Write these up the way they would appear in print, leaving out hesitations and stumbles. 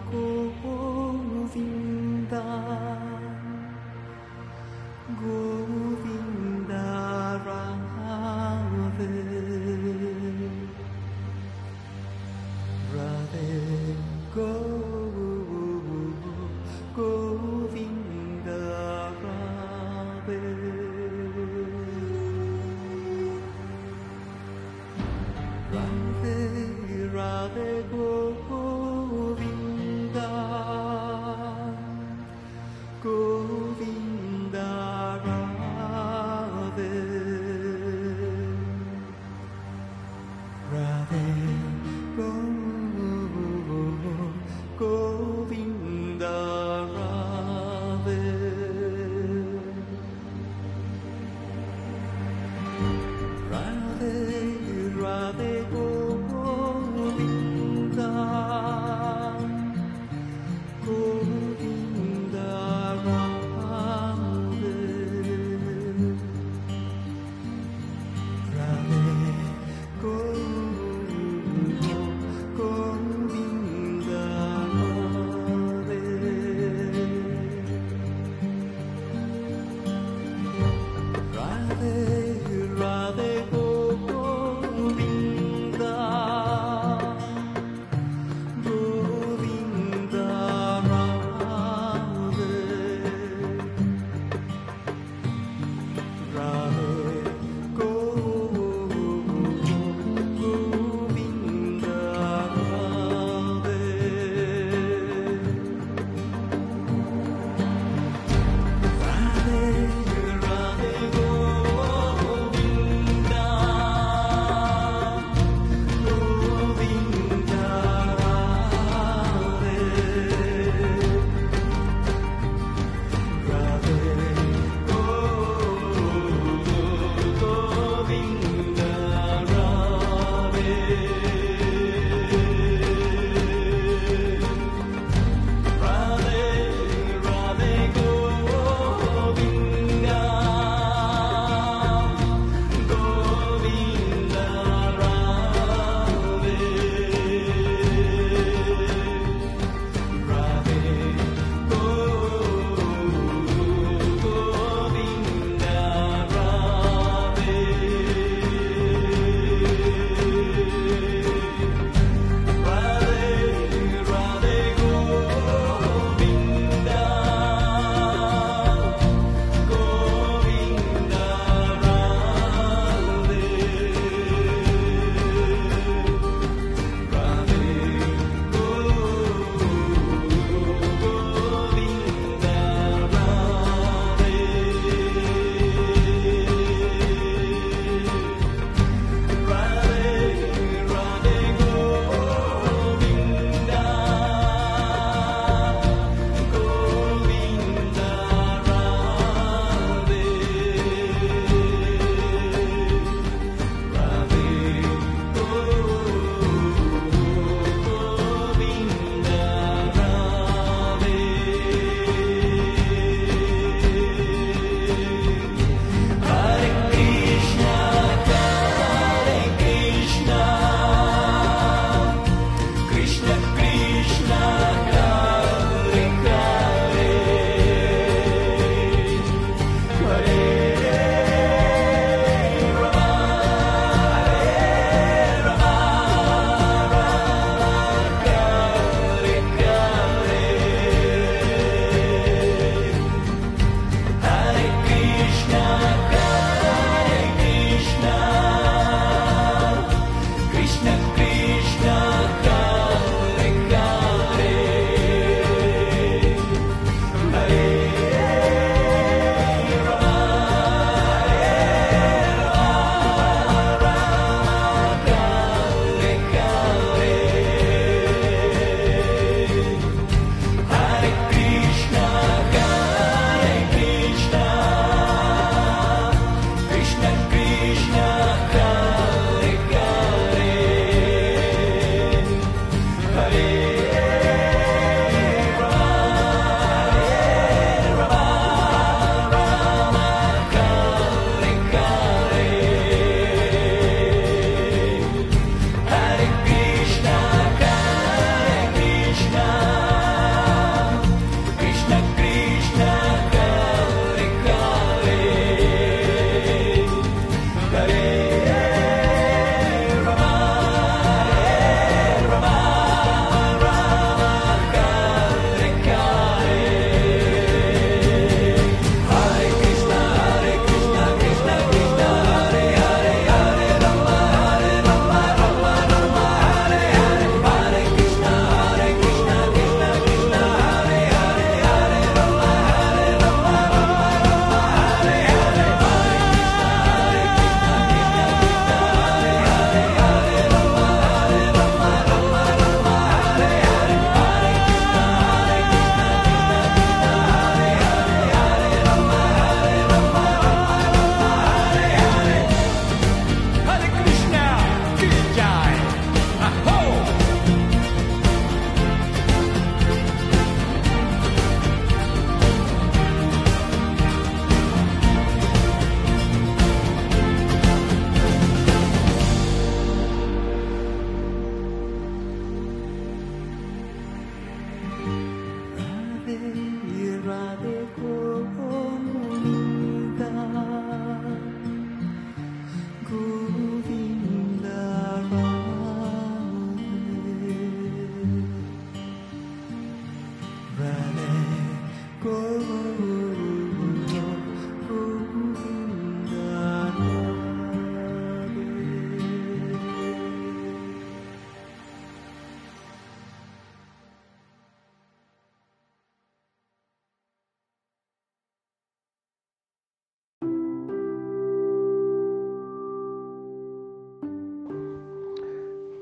Govinda, Govinda Radhe, Radhe Govinda Radhe, Radhe Radhe Govinda,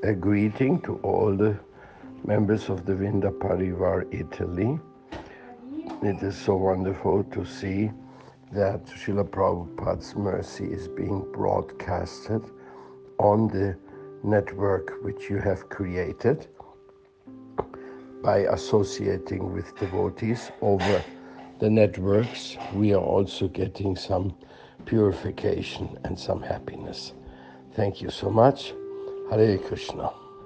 a greeting to all the members of the Vinda Parivar Italy. It is so wonderful to see that Srila Prabhupada's mercy is being broadcasted on the network which you have created by associating with devotees over the networks. We are also getting some purification and some happiness. Thank you so much. Hare Krishna.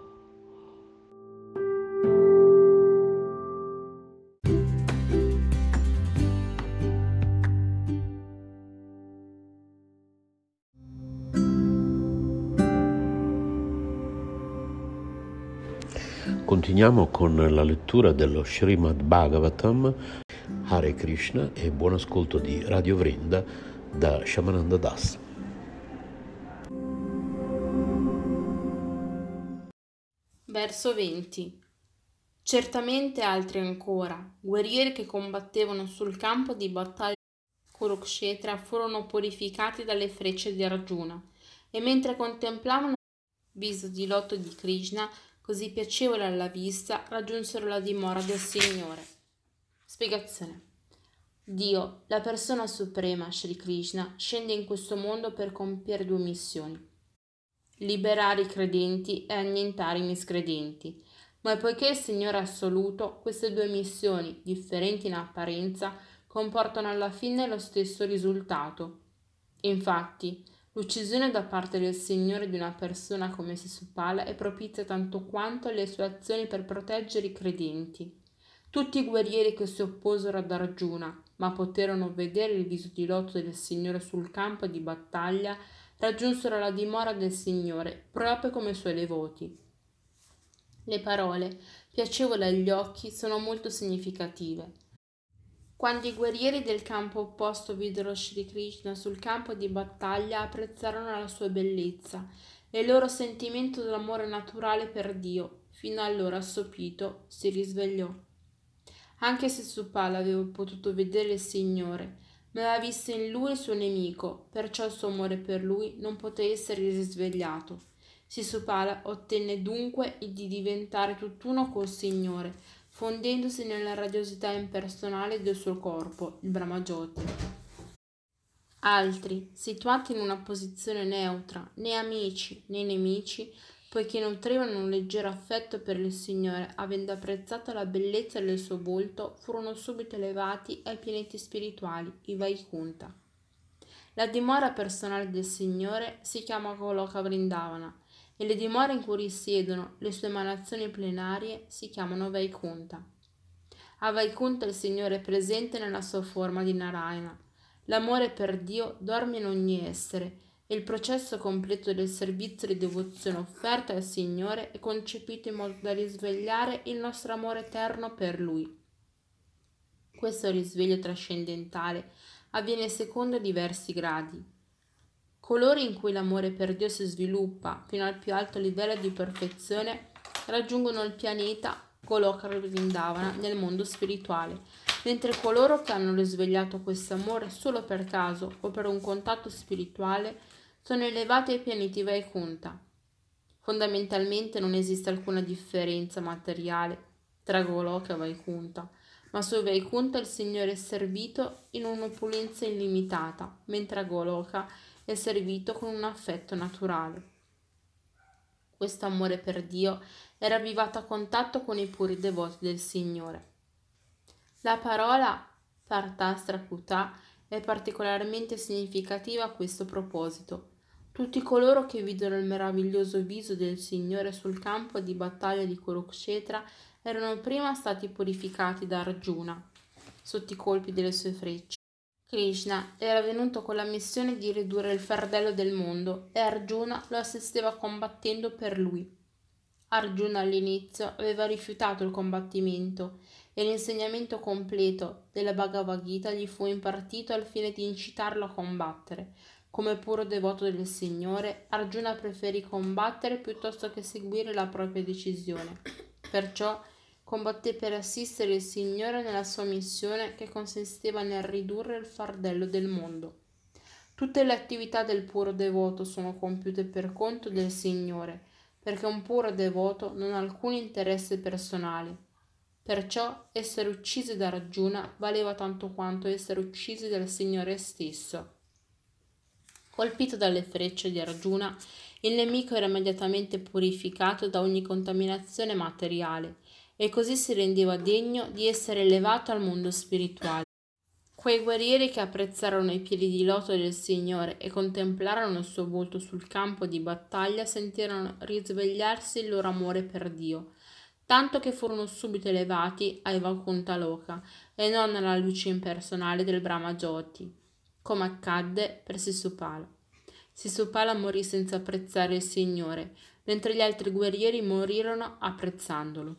Continuiamo con la lettura dello Srimad Bhagavatam. Hare Krishna e buon ascolto di Radio Vrinda da Shamananda Das. Verso 20. Certamente altri ancora, guerrieri che combattevano sul campo di battaglia Kurukshetra, furono purificati dalle frecce di Arjuna, e mentre contemplavano il viso di loto di Krishna, così piacevole alla vista, raggiunsero la dimora del Signore. Spiegazione. Dio, la persona suprema, Sri Krishna, scende in questo mondo per compiere due missioni: liberare i credenti e annientare i miscredenti. Ma poiché il Signore è assoluto, queste due missioni, differenti in apparenza, comportano alla fine lo stesso risultato. Infatti, l'uccisione da parte del Signore di una persona come Sisupala è propizia tanto quanto le sue azioni per proteggere i credenti. Tutti i guerrieri che si opposero ad Arjuna, ma poterono vedere il viso di loto del Signore sul campo di battaglia, raggiunsero la dimora del Signore, proprio come i suoi devoti. Le parole, piacevoli agli occhi, sono molto significative. Quando i guerrieri del campo opposto videro Sri Krishna sul campo di battaglia, apprezzarono la sua bellezza e il loro sentimento d'amore naturale per Dio, fino allora assopito, si risvegliò. Anche se Supala aveva potuto vedere il Signore, ma aveva visto in lui il suo nemico, perciò il suo amore per lui non poté essere risvegliato. Sisupala ottenne dunque di diventare tutt'uno col Signore, fondendosi nella radiosità impersonale del suo corpo, il Brahmajoti. Altri, situati in una posizione neutra, né amici né nemici, poiché nutrivano un leggero affetto per il Signore, avendo apprezzato la bellezza del suo volto, furono subito elevati ai pianeti spirituali, i Vaikunta. La dimora personale del Signore si chiama Goloka Vrindavana, e le dimore in cui risiedono le sue emanazioni plenarie si chiamano Vaikunta. A Vaikunta il Signore è presente nella sua forma di Narayana. L'amore per Dio dorme in ogni essere, e il processo completo del servizio di devozione offerto al Signore è concepito in modo da risvegliare il nostro amore eterno per Lui. Questo risveglio trascendentale avviene secondo diversi gradi. Coloro in cui l'amore per Dio si sviluppa fino al più alto livello di perfezione raggiungono il pianeta Goloka Vrindavana nel mondo spirituale, mentre coloro che hanno risvegliato questo amore solo per caso o per un contatto spirituale sono elevati ai pianeti Vaikunta. Fondamentalmente non esiste alcuna differenza materiale tra Goloka e Vaikunta, ma su Vaikunta il Signore è servito in un'opulenza illimitata, mentre a Goloka è servito con un affetto naturale. Questo amore per Dio è ravvivato a contatto con i puri devoti del Signore. La parola Partastra Puta è particolarmente significativa a questo proposito. Tutti coloro che videro il meraviglioso viso del Signore sul campo di battaglia di Kurukshetra erano prima stati purificati da Arjuna sotto i colpi delle sue frecce. Krishna era venuto con la missione di ridurre il fardello del mondo e Arjuna lo assisteva combattendo per lui. Arjuna all'inizio aveva rifiutato il combattimento e l'insegnamento completo della Bhagavad Gita gli fu impartito al fine di incitarlo a combattere. Come puro devoto del Signore, Arjuna preferì combattere piuttosto che seguire la propria decisione. Perciò combatté per assistere il Signore nella sua missione che consisteva nel ridurre il fardello del mondo. Tutte le attività del puro devoto sono compiute per conto del Signore, perché un puro devoto non ha alcun interesse personale. Perciò essere uccisi da Arjuna valeva tanto quanto essere uccisi dal Signore stesso. Colpito dalle frecce di Arjuna, il nemico era immediatamente purificato da ogni contaminazione materiale e così si rendeva degno di essere elevato al mondo spirituale. Quei guerrieri che apprezzarono i piedi di loto del Signore e contemplarono il suo volto sul campo di battaglia sentirono risvegliarsi il loro amore per Dio, tanto che furono subito elevati ai Vaikuntha Loka e non alla luce impersonale del Brahma Jyoti, come accadde per Sisupala. Sisupala morì senza apprezzare il Signore, mentre gli altri guerrieri morirono apprezzandolo.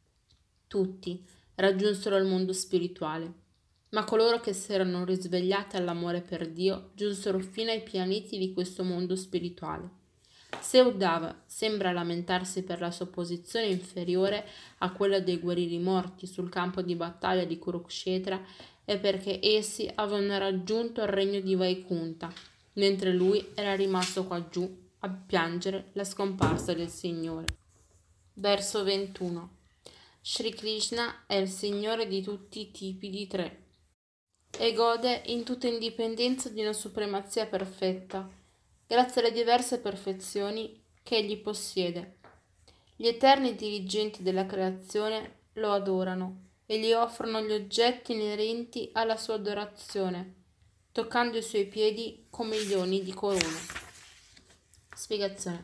Tutti raggiunsero il mondo spirituale, ma coloro che si erano risvegliati all'amore per Dio giunsero fino ai pianeti di questo mondo spirituale. Se Uddhava sembra lamentarsi per la sua posizione inferiore a quella dei guerrieri morti sul campo di battaglia di Kurukshetra, è perché essi avevano raggiunto il regno di Vaikuntha, mentre lui era rimasto qua giù a piangere la scomparsa del Signore. Verso 21. Sri Krishna è il Signore di tutti i tipi di tre e gode in tutta indipendenza di una supremazia perfetta, grazie alle diverse perfezioni che egli possiede. Gli eterni dirigenti della creazione lo adorano e gli offrono gli oggetti inerenti alla sua adorazione, toccando i suoi piedi con milioni di corone. Spiegazione.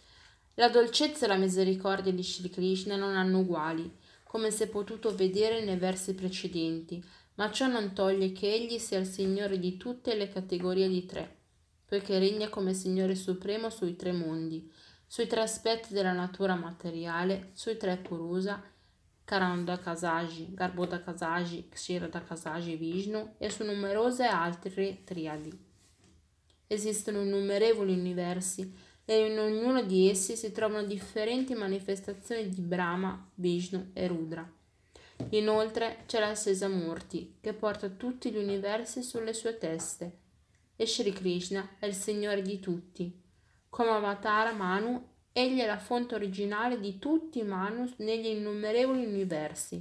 La dolcezza e la misericordia di Sri Krishna non hanno uguali, come si è potuto vedere nei versi precedenti, ma ciò non toglie che egli sia il Signore di tutte le categorie di tre, poiché regna come Signore Supremo sui tre mondi, sui tre aspetti della natura materiale, sui tre Purusa, Karandakasaji, Garbhodakasaji, Kshiradakasaji, Vishnu e su numerose altre triadi. Esistono innumerevoli universi e in ognuno di essi si trovano differenti manifestazioni di Brahma, Vishnu e Rudra. Inoltre c'è la Sesamurti che porta tutti gli universi sulle sue teste e Sri Krishna è il Signore di tutti. Come Avatara Manu, egli è la fonte originale di tutti i Manu negli innumerevoli universi.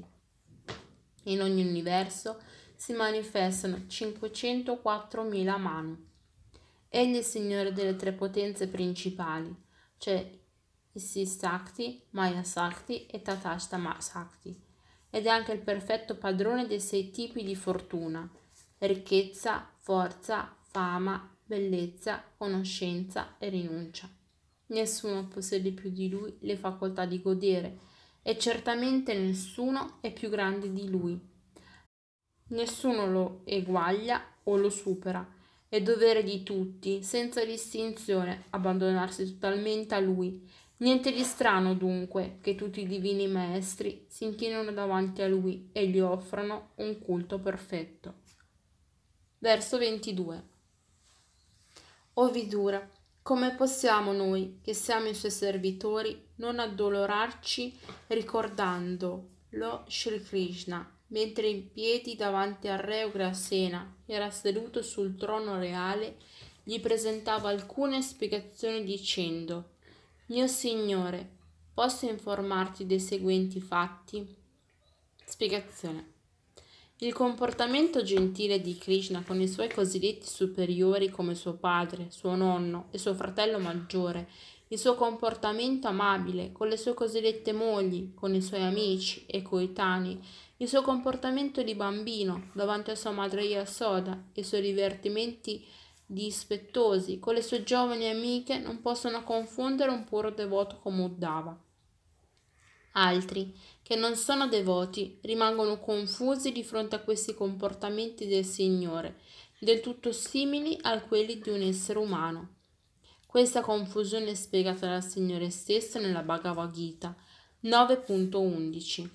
In ogni universo si manifestano 504.000 Manu. Egli è il Signore delle tre potenze principali, cioè Isi Sakti, Maya Sakti e Tatastama Sakti, ed è anche il perfetto padrone dei 6 tipi di fortuna: ricchezza, forza, fama, bellezza, conoscenza e rinuncia. Nessuno possiede più di lui le facoltà di godere e certamente nessuno è più grande di lui. Nessuno lo eguaglia o lo supera. È dovere di tutti, senza distinzione, abbandonarsi totalmente a lui. Niente di strano dunque che tutti i divini maestri si inchinino davanti a lui e gli offrano un culto perfetto. Verso 22. O Vidura, come possiamo noi, che siamo i suoi servitori, non addolorarci ricordandolo Sri Krishna, mentre in piedi davanti al re Ugrasena era seduto sul trono reale, gli presentava alcune spiegazioni dicendo: Mio Signore, posso informarti dei seguenti fatti? Spiegazione. Il comportamento gentile di Krishna con i suoi cosiddetti superiori come suo padre, suo nonno e suo fratello maggiore, il suo comportamento amabile con le sue cosiddette mogli, con i suoi amici e coetanei, il suo comportamento di bambino davanti a sua madre Yasoda e i suoi divertimenti dispettosi con le sue giovani amiche non possono confondere un puro devoto come Uddhava. Altri, che non sono devoti, rimangono confusi di fronte a questi comportamenti del Signore, del tutto simili a quelli di un essere umano. Questa confusione è spiegata dal Signore stesso nella Bhagavad Gita 9.11.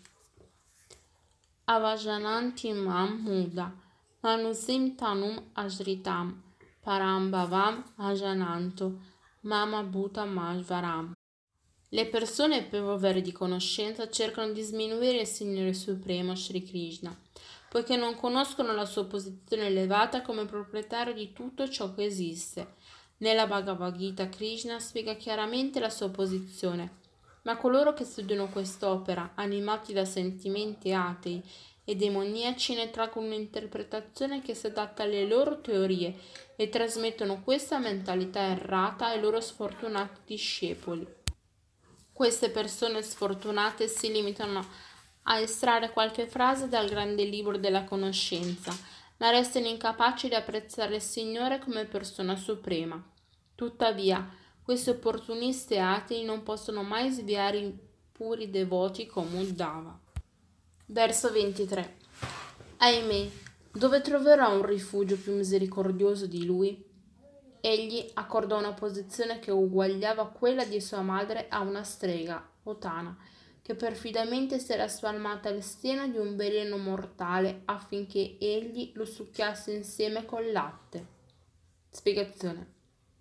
Avajananti mam muda, manusim tanum ajritam, parambhavam ajananto, mama bhutam ajvaram. Le persone povere di conoscenza cercano di sminuire il Signore Supremo Sri Krishna, poiché non conoscono la sua posizione elevata come proprietario di tutto ciò che esiste. Nella Bhagavad Gita Krishna spiega chiaramente la sua posizione, ma coloro che studiano quest'opera, animati da sentimenti atei e demoniaci, ne traggono un'interpretazione che si adatta alle loro teorie e trasmettono questa mentalità errata ai loro sfortunati discepoli. Queste persone sfortunate si limitano a estrarre qualche frase dal grande libro della conoscenza, ma restano incapaci di apprezzare il Signore come persona suprema. Tuttavia, questi opportunisti atei non possono mai sviare i puri devoti come Uddhava. Verso 23. Ahimè, dove troverò un rifugio più misericordioso di lui? Egli accordò una posizione che uguagliava quella di sua madre a una strega, Otana, che perfidamente si era spalmata il seno di un veleno mortale affinché egli lo succhiasse insieme col latte. Spiegazione.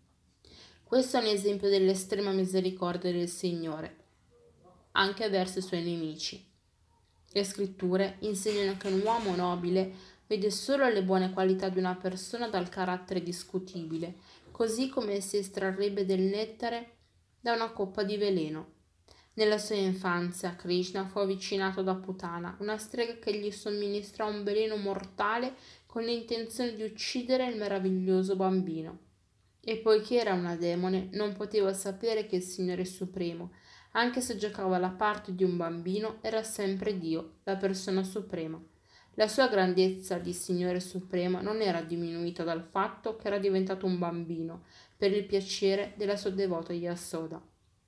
Questo è un esempio dell'estrema misericordia del Signore, anche verso i suoi nemici. Le scritture insegnano che un uomo nobile vede solo le buone qualità di una persona dal carattere discutibile, così come si estrarrebbe del nettare da una coppa di veleno. Nella sua infanzia, Krishna fu avvicinato da Putana, una strega che gli somministrò un veleno mortale con l'intenzione di uccidere il meraviglioso bambino. E poiché era una demone, non poteva sapere che il Signore Supremo, anche se giocava la parte di un bambino, era sempre Dio, la persona suprema. La sua grandezza di Signore Supremo non era diminuita dal fatto che era diventato un bambino per il piacere della sua devota Yasoda.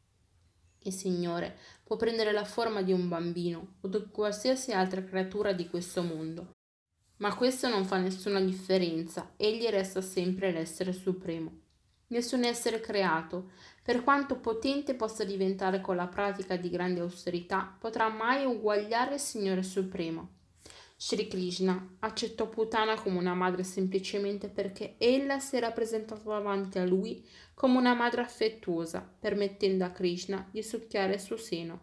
Il Signore può prendere la forma di un bambino o di qualsiasi altra creatura di questo mondo, ma questo non fa nessuna differenza, egli resta sempre l'essere supremo. Nessun essere creato, per quanto potente possa diventare con la pratica di grande austerità, potrà mai uguagliare il Signore Supremo. Sri Krishna accettò Putana come una madre semplicemente perché ella si era presentata davanti a lui come una madre affettuosa, permettendo a Krishna di succhiare il suo seno.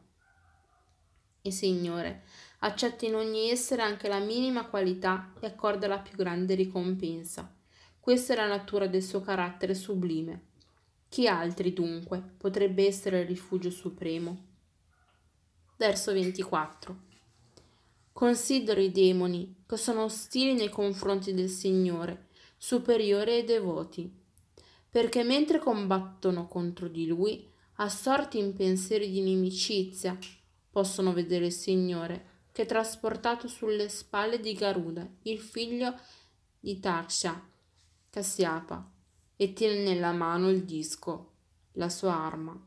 Il Signore accetta in ogni essere anche la minima qualità e accorda la più grande ricompensa. Questa è la natura del suo carattere sublime. Chi altri, dunque, potrebbe essere il rifugio supremo? Verso 24. Considero i demoni, che sono ostili nei confronti del Signore, superiori ai devoti, perché mentre combattono contro di Lui, assorti in pensieri di inimicizia, possono vedere il Signore, che è trasportato sulle spalle di Garuda, il figlio di Taksha, Kasyapa, e tiene nella mano il disco, la sua arma.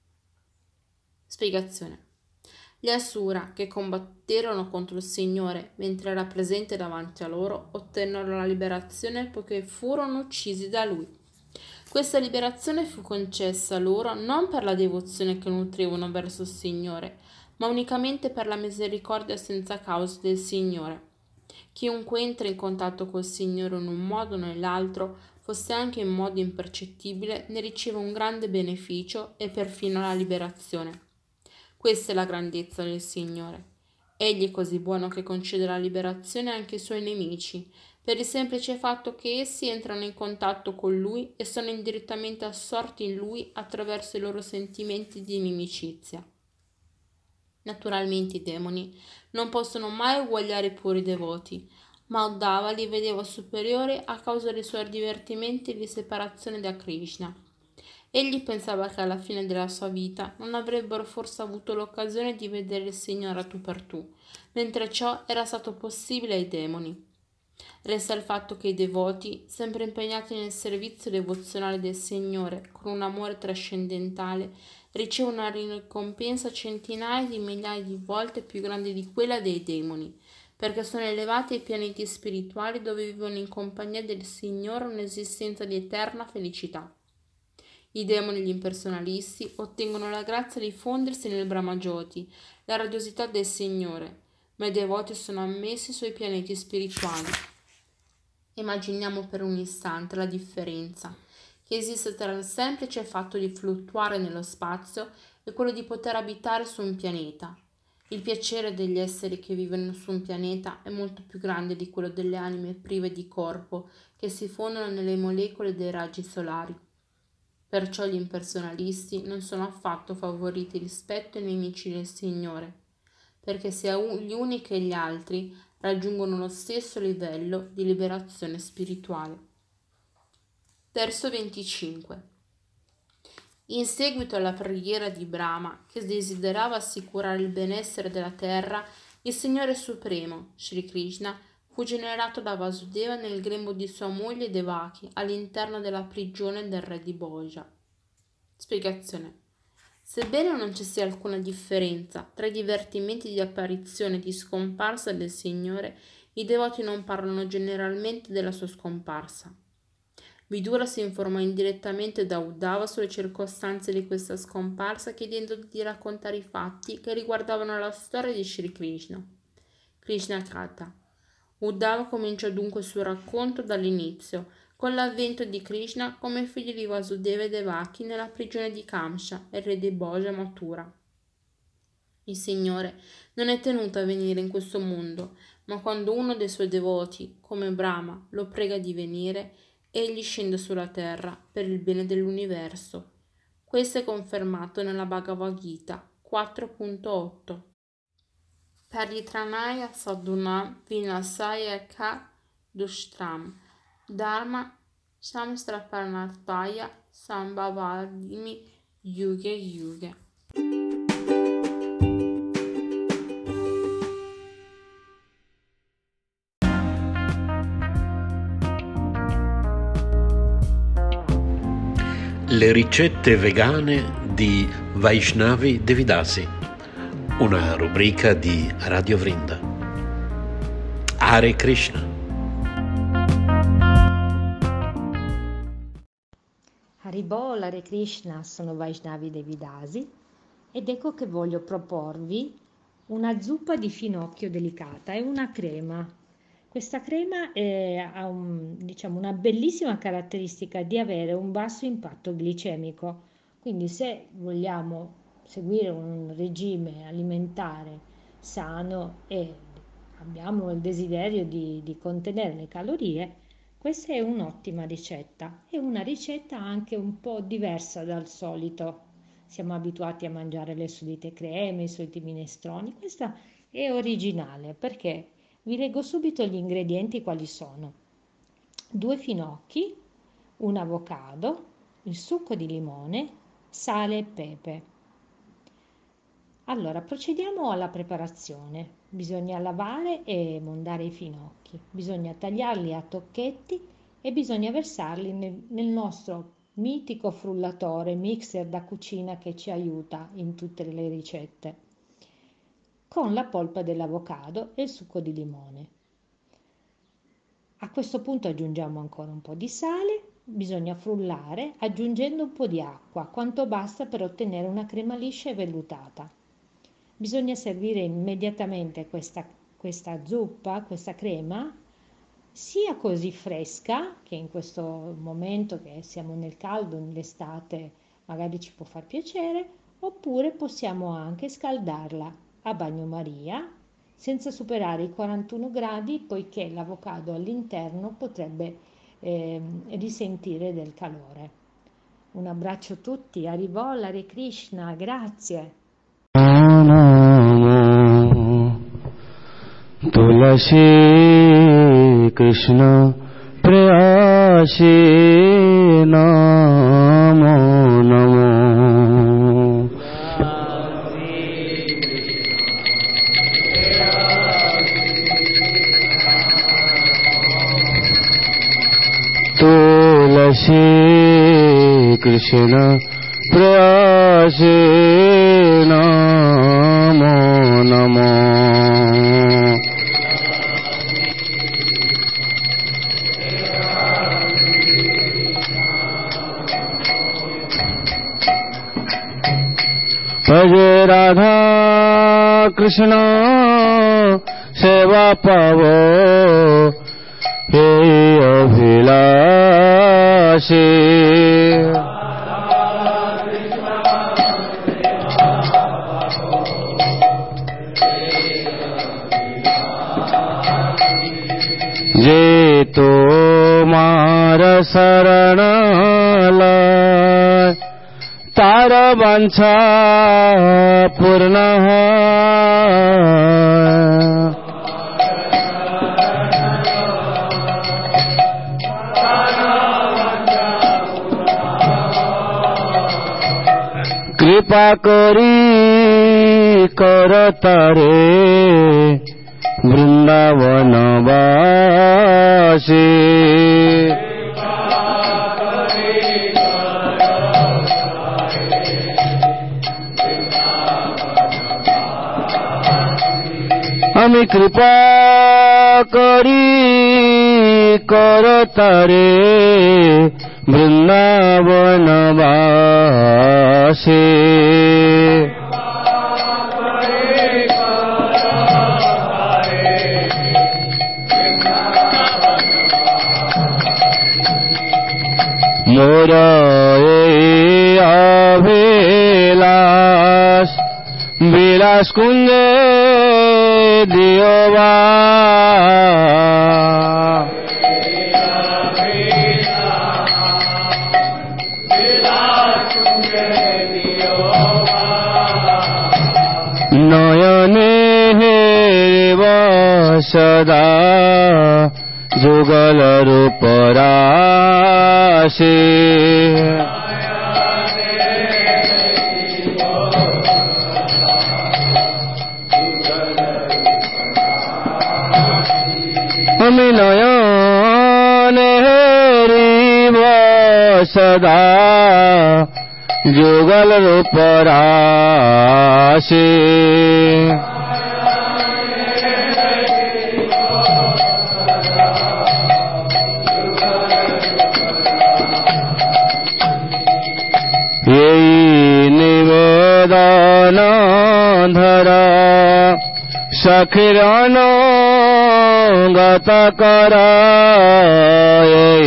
Spiegazione. Gli Asura, che combatterono contro il Signore mentre era presente davanti a loro, ottennero la liberazione poiché furono uccisi da Lui. Questa liberazione fu concessa loro non per la devozione che nutrivano verso il Signore, ma unicamente per la misericordia senza causa del Signore. Chiunque entra in contatto col Signore in un modo o nell'altro, fosse anche in modo impercettibile, ne riceve un grande beneficio e perfino la liberazione. Questa è la grandezza del Signore. Egli è così buono che concede la liberazione anche ai suoi nemici, per il semplice fatto che essi entrano in contatto con Lui e sono indirettamente assorti in Lui attraverso i loro sentimenti di inimicizia. Naturalmente i demoni non possono mai uguagliare i puri devoti, ma Uddhava li vedeva superiori a causa dei suoi divertimenti di separazione da Krishna. Egli pensava che alla fine della sua vita non avrebbero forse avuto l'occasione di vedere il Signore a tu per tu, mentre ciò era stato possibile ai demoni. Resta il fatto che i devoti, sempre impegnati nel servizio devozionale del Signore con un amore trascendentale, ricevono una ricompensa centinaia di migliaia di volte più grande di quella dei demoni, perché sono elevati ai pianeti spirituali dove vivono in compagnia del Signore un'esistenza di eterna felicità. I demoni e gli impersonalisti ottengono la grazia di fondersi nel Brahmajoti, la radiosità del Signore, ma i devoti sono ammessi sui pianeti spirituali. Immaginiamo per un istante la differenza che esiste tra il semplice fatto di fluttuare nello spazio e quello di poter abitare su un pianeta. Il piacere degli esseri che vivono su un pianeta è molto più grande di quello delle anime prive di corpo che si fondono nelle molecole dei raggi solari. Perciò gli impersonalisti non sono affatto favoriti rispetto ai nemici del Signore, perché sia gli uni che gli altri raggiungono lo stesso livello di liberazione spirituale. Verso 25. In seguito alla preghiera di Brahma, che desiderava assicurare il benessere della terra, il Signore Supremo, Sri Krishna, fu generato da Vasudeva nel grembo di sua moglie Devaki all'interno della prigione del re di Bhoja. Spiegazione. Sebbene non ci sia alcuna differenza tra i divertimenti di apparizione e di scomparsa del Signore, i devoti non parlano generalmente della sua scomparsa. Vidura si informò indirettamente da Uddhava sulle circostanze di questa scomparsa, chiedendo di raccontare i fatti che riguardavano la storia di Sri Krishna. Krishna Katha. Uddhava cominciò dunque il suo racconto dall'inizio, con l'avvento di Krishna come figlio di Vasudeva e Devaki nella prigione di Kamsa, il re di Bhoja Mathura. Il Signore non è tenuto a venire in questo mondo, ma quando uno dei suoi devoti, come Brahma, lo prega di venire, egli scende sulla terra per il bene dell'universo. Questo è confermato nella Bhagavad Gita 4.8. Paritranaya sadhunam vinasaya ka dushtram dharma samstraparnataya sambhavadimi yuge yuge. Le ricette vegane di Vaishnavi Devidasi, una rubrica di Radio Vrinda. Hare Krishna. Haribol, Hare Krishna, sono Vaishnavi Devidasi ed ecco che voglio proporvi una zuppa di finocchio delicata, è una crema. Questa crema ha una bellissima caratteristica di avere un basso impatto glicemico, quindi se vogliamo seguire un regime alimentare sano e abbiamo il desiderio di contenere le calorie, questa è un'ottima ricetta. È una ricetta anche un po' diversa dal solito. Siamo abituati a mangiare le solite creme, i soliti minestroni. Questa è originale perché vi leggo subito gli ingredienti quali sono: 2 finocchi, un avocado, il succo di limone, sale e pepe. Allora, procediamo alla preparazione. Bisogna lavare e mondare i finocchi, bisogna tagliarli a tocchetti e bisogna versarli nel nostro mitico frullatore, mixer da cucina che ci aiuta in tutte le ricette, con la polpa dell'avocado e il succo di limone. A questo punto aggiungiamo ancora un po' di sale, bisogna frullare aggiungendo un po' di acqua, quanto basta per ottenere una crema liscia e vellutata. Bisogna servire immediatamente questa zuppa, questa crema, sia così fresca, che in questo momento che siamo nel caldo, nell'estate, magari ci può far piacere, oppure possiamo anche scaldarla a bagnomaria senza superare i 41 gradi, poiché l'avocado all'interno potrebbe risentire del calore. Un abbraccio a tutti, Haribol, Hare Krishna, grazie. Tulasi Krishna Prayasi Namo Namo Tulasi Krishna Prayasi Namo Namo Bhaje Radha Krishna Seva Pavo He Abhilashi Je tomar sarana laye वांछा पूर्णः कृपा करी करतारे वृंदावन वासी আমি কৃপা করি করতারে বৃন্দাবন বাসী মোর এই অভিলাষ বিলাস কুঞ্জে দিওবা নয়নে হেব সদা যুগল রূপরাশি আমি নয়নে হেরিব সদা যুগল রূপরাশি এই নিবেদন ধরা সখির অনুগত কর এই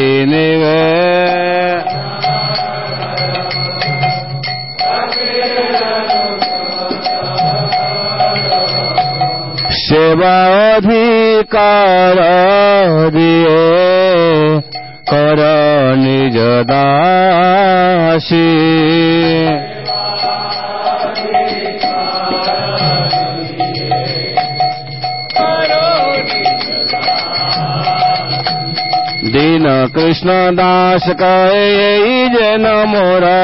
সেবা অধিকার দিয়ে কর নিজ দাসী दीन कृष्ण दास कहे जन मोरा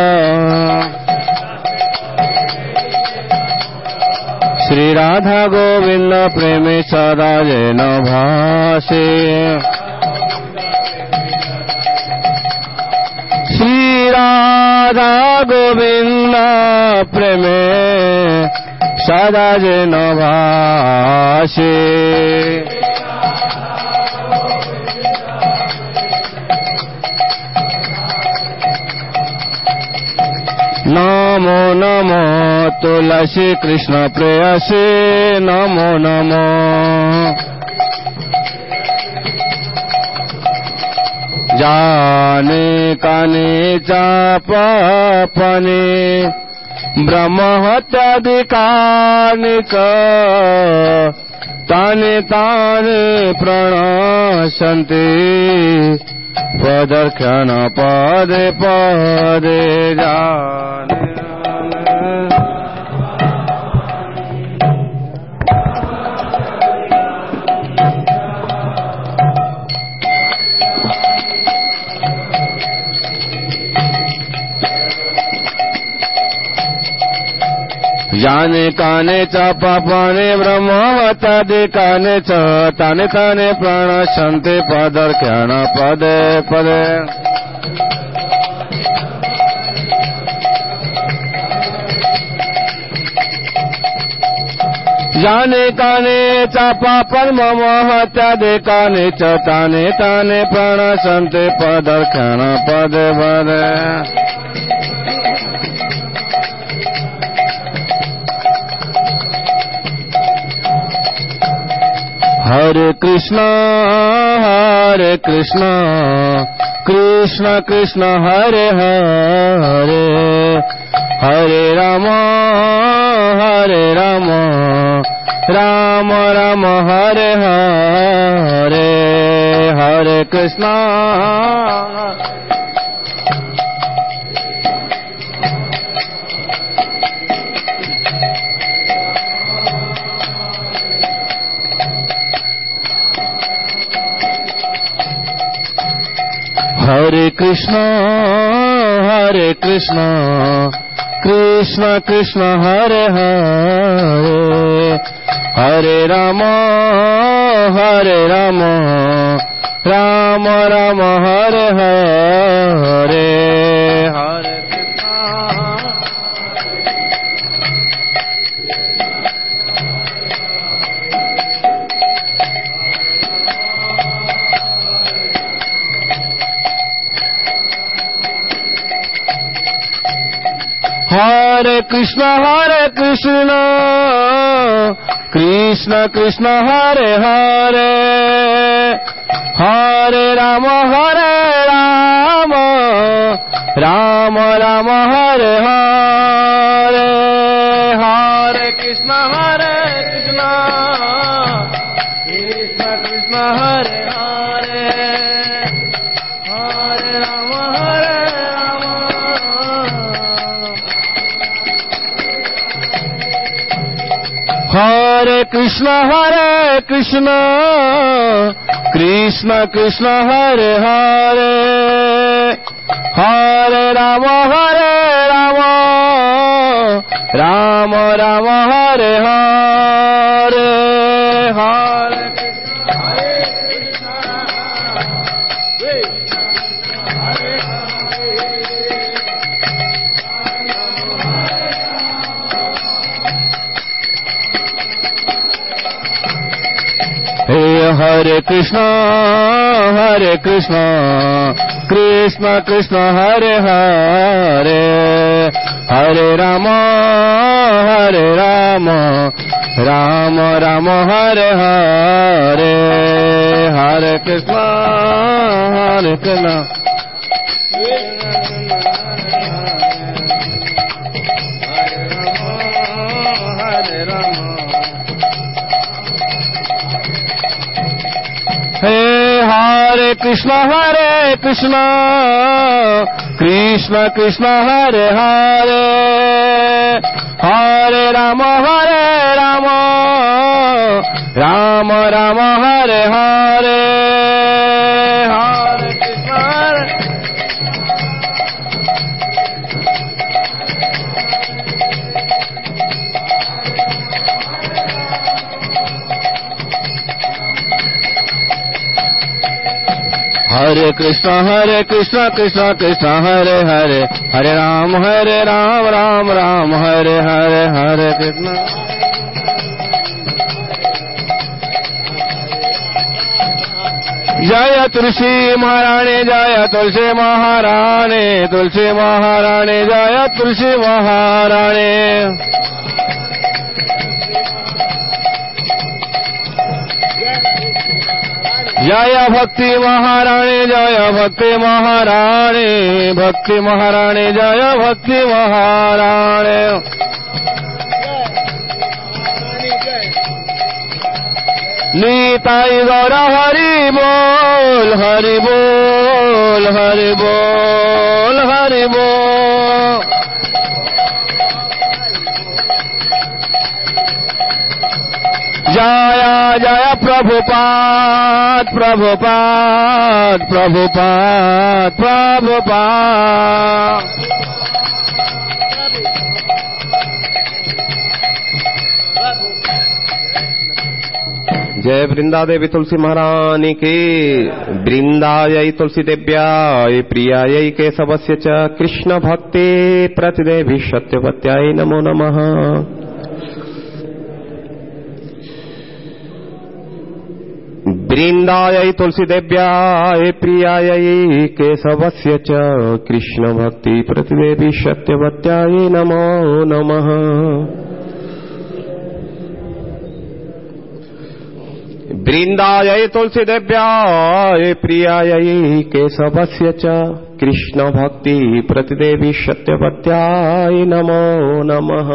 श्री राधा गोविंद प्रेमी सदा जन भासे श्री राधा गोविंद प्रेमे सदा जन भासे नमो नमो तुलसी कृष्ण प्रेयसी नमो नमो जाने काने चापने ब्रह्म हत्यादिकानि च तानि तानि प्रणश्यन्ति पदर्क्षण पदे पदे जाने जाने काने च पापाने ब्रह्मवतादि काने च ताने ताने प्रणश्यन्ति पदर्क्षण पदे पदे जाने काने च पापन्महत्यादि काने च ताने ताने प्रणश्यन्ति पदर्क्षण पदे पदे हरे कृष्ण कृष्ण कृष्ण हरे हरे हरे राम राम राम हरे हरे हरे Krishna Krishna Krishna Krishna Hare Hare Hare Rama Rama Rama Hare Hare Hare Krishna Krishna Krishna Hare Hare Hare Rama Rama Rama Hare Hare Hare Krishna Krishna Krishna Hare Hare Hare Rama Hare Krishna Krishna Krishna Hare Hare Hare Rama Rama Rama Hare Hare Hare Hare Krishna Krishna Krishna Hare Hare Hare Rama Rama Rama Hare Hare Hare Krishna Hare Krishna Hare Krishna Krishna Krishna Hare Hare Hare Rama Rama Rama Hare Hare Hare Krishna Hare Krishna Krishna Krishna Hare Hare Hare Ram Ram Ram Hare Hare Hare Krishna Jaya Tulsi Maharani Jaya Tulsi Maharani Tulsi Maharani Jaya Tulsi Maharani Jaya Bhakti Maharani Jaya Bhakti Maharani Bhakti Maharani Jaya Bhakti Maharani Nitai Gaura Hari Bol Hari Bol Hari Bol Hari Bol Jaya Jaya Prabhupada Prabhupada Prabhupada Prabhupada जय वृंदा देवी तुलसी महारानी की वृंदायै तुलसी देव्याय प्रियायै केशवस्य च कृष्ण भक्ति प्रतिदेवी सत्यवत्याय नमो नमः वृंदायै तुलसी देव्याय प्रियायै केशवस्य च कृष्ण भक्ति प्रतिदेवी सत्यवत्याय नमो नमः वृंदायै तुलसी देव्याय प्रियायै केशवस्य च कृष्ण भक्ति प्रतिदेवी सत्यवत्याय नमो नमः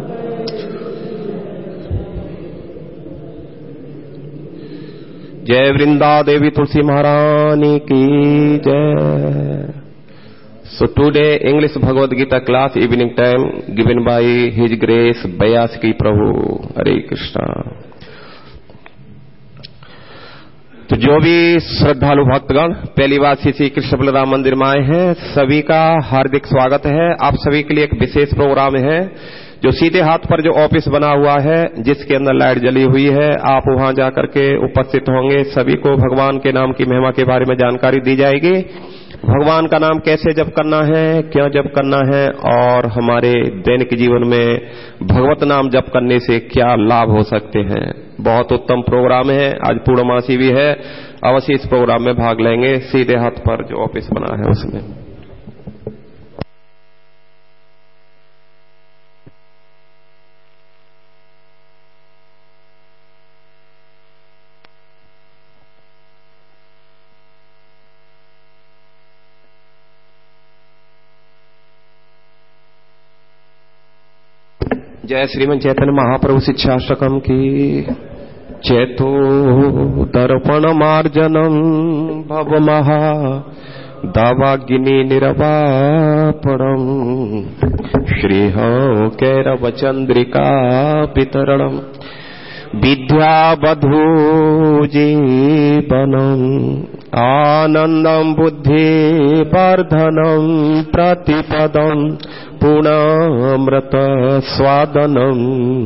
जय वृंदा देवी तुलसी महारानी की जय So today English Bhagavad Gita class evening time given by His Grace Vyasaki Prabhu. Hare Krishna. तो जो भी श्रद्धालु भक्तगण पहली बार श्री कृष्ण बलराम मंदिर में आए हैं, सभी का हार्दिक स्वागत है। आप सभी के लिए एक विशेष प्रोग्राम है। जो सीधे हाथ पर जो ऑफिस बना हुआ है, जिसके अंदर लाइट जली हुई है, आप वहां जाकर के उपस्थित होंगे। सभी को भगवान के नाम की महिमा के बारे में जानकारी दी जाएगी। भगवान का नाम कैसे जप करना है, क्यों जप करना है, और हमारे दैनिक जीवन में भगवत नाम जप करने से क्या लाभ हो सकते हैं। बहुत उत्तम प्रोग्राम है। आज पूर्णमासी भी है। अवश्य इस प्रोग्राम में भाग लेंगे। सीधे हाथ पर जो ऑफिस बना है उसमें जय श्रीमन चैतन्य महाप्रभु शिक्षाश्रकम की। चेतो दर्पण मार्जनम भवमहा दावाग्नि निरवापणम श्रीह कैरव चंद्रिका वितरणम विद्यावधू जीवनम आनंदम बुद्धि वर्धनम प्रतिपदम पूर्णामृत स्वादनम।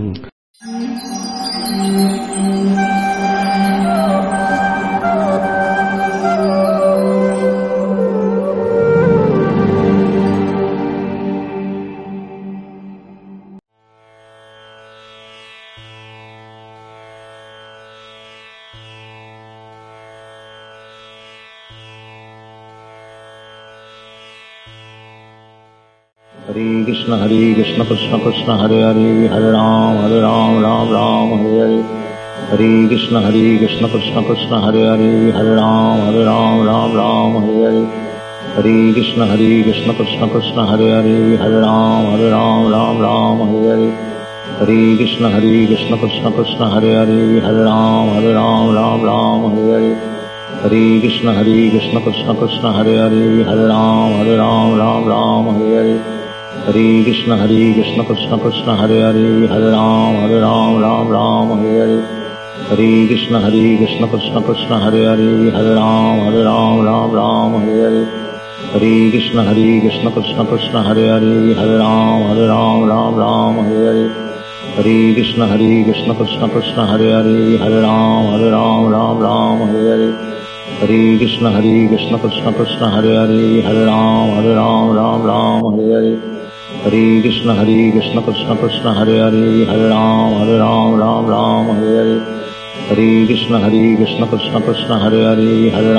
हरे कृष्ण कृष्ण कृष्ण हरे हरे, हरे राम राम राम हरे हरे। हरे कृष्ण कृष्ण कृष्ण हरे हरे, हरे राम राम हरे हरे। हरे कृष्ण कृष्ण कृष्ण हरे हरे, हरे राम राम हरे हरे। हरे कृष्ण कृष्ण कृष्ण हरे हरे, हरे राम हरे हरे। हरे कृष्ण कृष्ण कृष्ण हरे हरे, हरे राम हरे हरे। हरे कृष्ण कृष्ण कृष्ण हरे हरे, हरे राम हरे हरे। हरे कृष्ण कृष्ण कृष्ण हरे हरे, हरे राम हरे हरे। हरे कृष्ण कृष्ण कृष्ण हरे हरे, हरे राम हरे हरे। हरे कृष्ण कृष्ण कृष्ण हरे हरे, हरे राम हरे हरे। हरे कृष्ण कृष्ण कृष्ण हरे हरे, हरे राम हरे हरे। हरे कृष्ण कृष्ण कृष्ण हरे हरे, हरे राम हरे हरे। हरे कृष्ण कृष्ण कृष्ण हरे हरे, हरे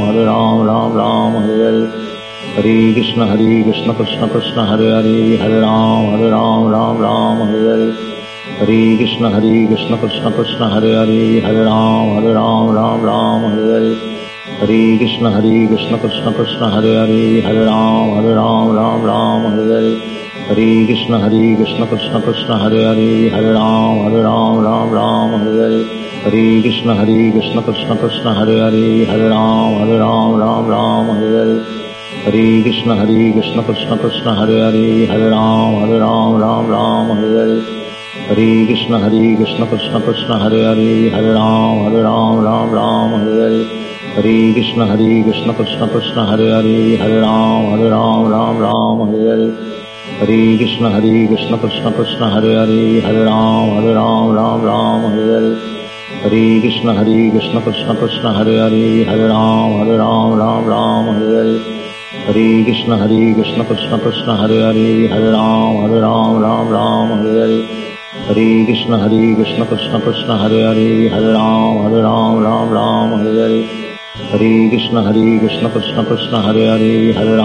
राम हरे हरे। हरे कृष्ण कृष्ण कृष्ण हरे हरे, हरे राम हरे हरे। हरे कृष्ण कृष्ण कृष्ण हरे हरे, हरे राम हरे हरे। हरे कृष्ण कृष्ण कृष्ण हरे हरे, हरे राम हरे हरे। हरे कृष्ण कृष्ण कृष्ण हरे हरे, हरे राम हरे हरे। हरे कृष्ण कृष्ण कृष्ण हरे हरे, हरे राम हरे हरे। हरे कृष्ण कृष्ण कृष्ण हरे हरे, हरे राम हरे हरे। हरे कृष्ण कृष्ण कृष्ण हरे हरे, हरे राम हरे हरे। हरे कृष्ण कृष्ण कृष्ण हरे हरे, हरे राम हरे हरे। हरे कृष्ण कृष्ण कृष्ण हरे हरे, हरे राम हरे हरे। हरे कृष्ण कृष्ण कृष्ण हरे हरे, हरे राम हरे हरे। हरे कृष्ण कृष्ण कृष्ण हरे हरे, हरे राम हरे हरे। हरे कृष्ण कृष्ण कृष्ण हरे हरे, हरे राम हरे हरे। हरे कृष्ण कृष्ण कृष्ण हरे हरे, हरे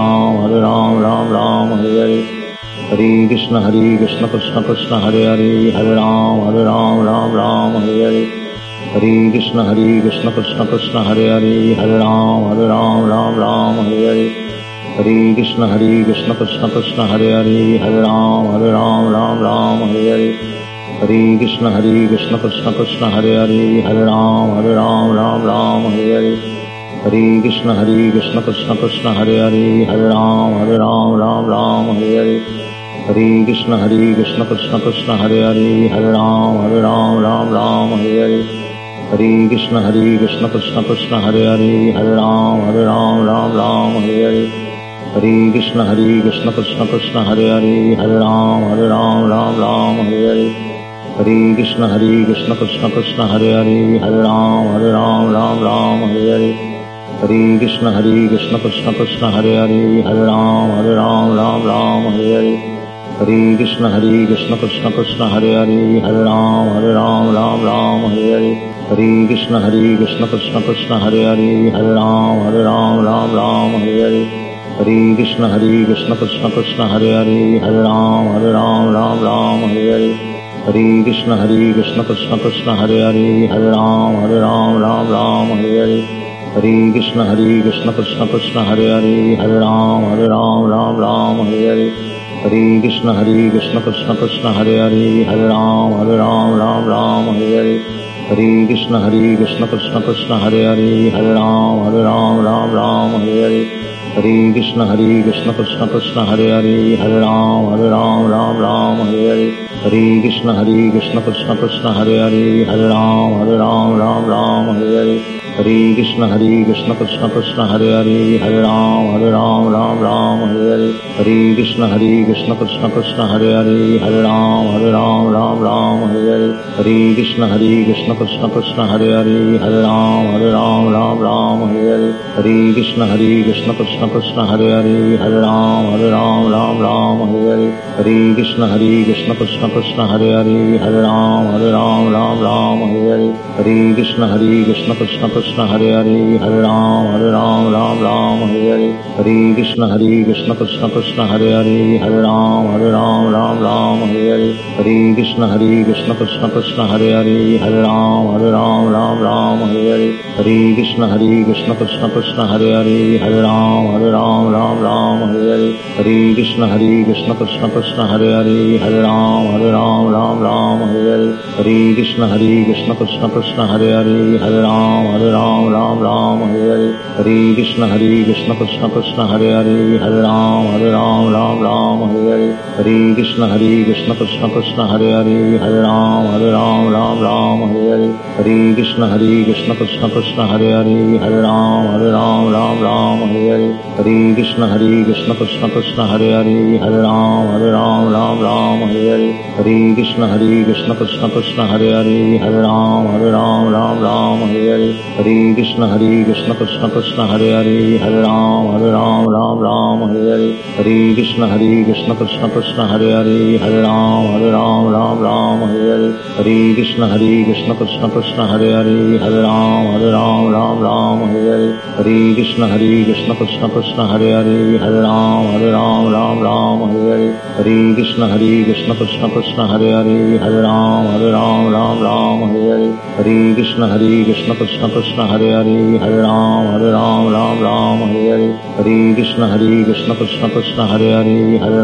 राम हरे हरे। हरे कृष्ण कृष्ण कृष्ण हरे हरे, हरे राम हरे हरे। हरे कृष्ण कृष्ण कृष्ण हरे हरे, हरे राम हरे हरे। हरे कृष्ण कृष्ण कृष्ण हरे हरे, हरे राम हरे हरे। हरे कृष्ण कृष्ण कृष्ण हरे हरे, हरे राम हरे हरे। हरे कृष्ण कृष्ण कृष्ण हरे हरे, हरे राम हरे हरे। हरे कृष्ण कृष्ण कृष्ण हरे हरे, हरे राम हरे हरे। हरे कृष्ण कृष्ण कृष्ण हरे हरे, हरे राम राम राम हरे हरे, हरे कृष्ण कृष्ण कृष्ण हरे हरे, हरे राम राम राम हरे हरे, हरे कृष्ण कृष्ण कृष्ण हरे हरे, हरे राम राम हरे हरे, हरे कृष्ण कृष्ण कृष्ण हरे हरे, हरे राम राम हरे हरे, हरे कृष्ण कृष्ण कृष्ण हरे हरे, हरे राम राम हरे हरे, हरे कृष्ण कृष्ण कृष्ण हरे हरे, हरे राम राम हरे हरे, हरे कृष्ण कृष्ण कृष्ण हरे हरे, हरे राम राम हरे हरे, हरे कृष्ण कृष्ण कृष्ण हरे हरे, हरे राम राम हरे हरे, हरे कृष्ण कृष्ण कृष्ण हरे हरे, हरे राम राम हरे हरे, हरे कृष्ण कृष्ण कृष्ण हरे हरे, हरे राम हरे हरे, हरे कृष्ण कृष्ण कृष्ण हरे हरे, हरे राम हरे हरे, हरे कृष्ण कृष्ण कृष्ण हरे हरे, हरे राम हरे हरे, हरे कृष्ण कृष्ण कृष्ण हरे हरे, हरे राम हरे हरे, हरे कृष्ण कृष्ण कृष्ण हरे हरे, हरे राम हरे हरे, हरे कृष्ण कृष्ण कृष्ण हरे हरे, हरे राम हरे हरे, हरे कृष्ण कृष्ण कृष्ण हरे हरे, हरे राम हरे हरे, हरे कृष्ण कृष्ण कृष्ण हरे हरे, हरे राम हरे हरे, हरे कृष्ण कृष्ण कृष्ण हरे हरे, हरे राम हरे हरे, हरे कृष्ण कृष्ण कृष्ण हरे हरे, हरे राम हरे हरे, हरे कृष्ण कृष्ण कृष्ण हरे हरे, हरे राम हरे हरे, हरे कृष्ण कृष्ण कृष्ण हरे हरे, हरे राम हरे हरे, हरे कृष्ण कृष्ण कृष्ण हरे हरे, हरे राम हरे हरे, हरे कृष्ण कृष्ण कृष्ण हरे हरे, हरे राम हरे हरे, हरे कृष्ण कृष्ण कृष्ण हरे हरे, हरे राम हरे हरे, हरे कृष्ण कृष्ण कृष्ण हरे हरे, हरे राम हरे हरे, हरे कृष्ण कृष्ण कृष्ण हरे हरे, हरे राम हरे हरे, हरे कृष्ण कृष्ण कृष्ण हरे हरे, हरे राम हरे हरे, हरे कृष्ण कृष्ण कृष्ण हरे हरे, हरे राम हरे हरे, हरे कृष्ण कृष्ण कृष्ण हरे हरे, हरे राम हरे हरे, हरे कृष्ण कृष्ण कृष्ण हरे हरे, हरे राम हरे हरे, हरे कृष्ण कृष्ण कृष्ण हरे हरे, हरे राम हरे हरे, हरे कृष्ण कृष्ण कृष्ण हरे हरे, हरे राम हरे हरे, हरे कृष्ण कृष्ण कृष्ण हरे हरे, हरे राम हरे हरे, हरे कृष्ण कृष्ण कृष्ण हरे हरे, हरे राम हरे हरे, हरे कृष्ण कृष्ण कृष्ण हरे हरे, हरे राम हरे हरे, हरे कृष्ण कृष्ण कृष्ण हरे हरे, हरे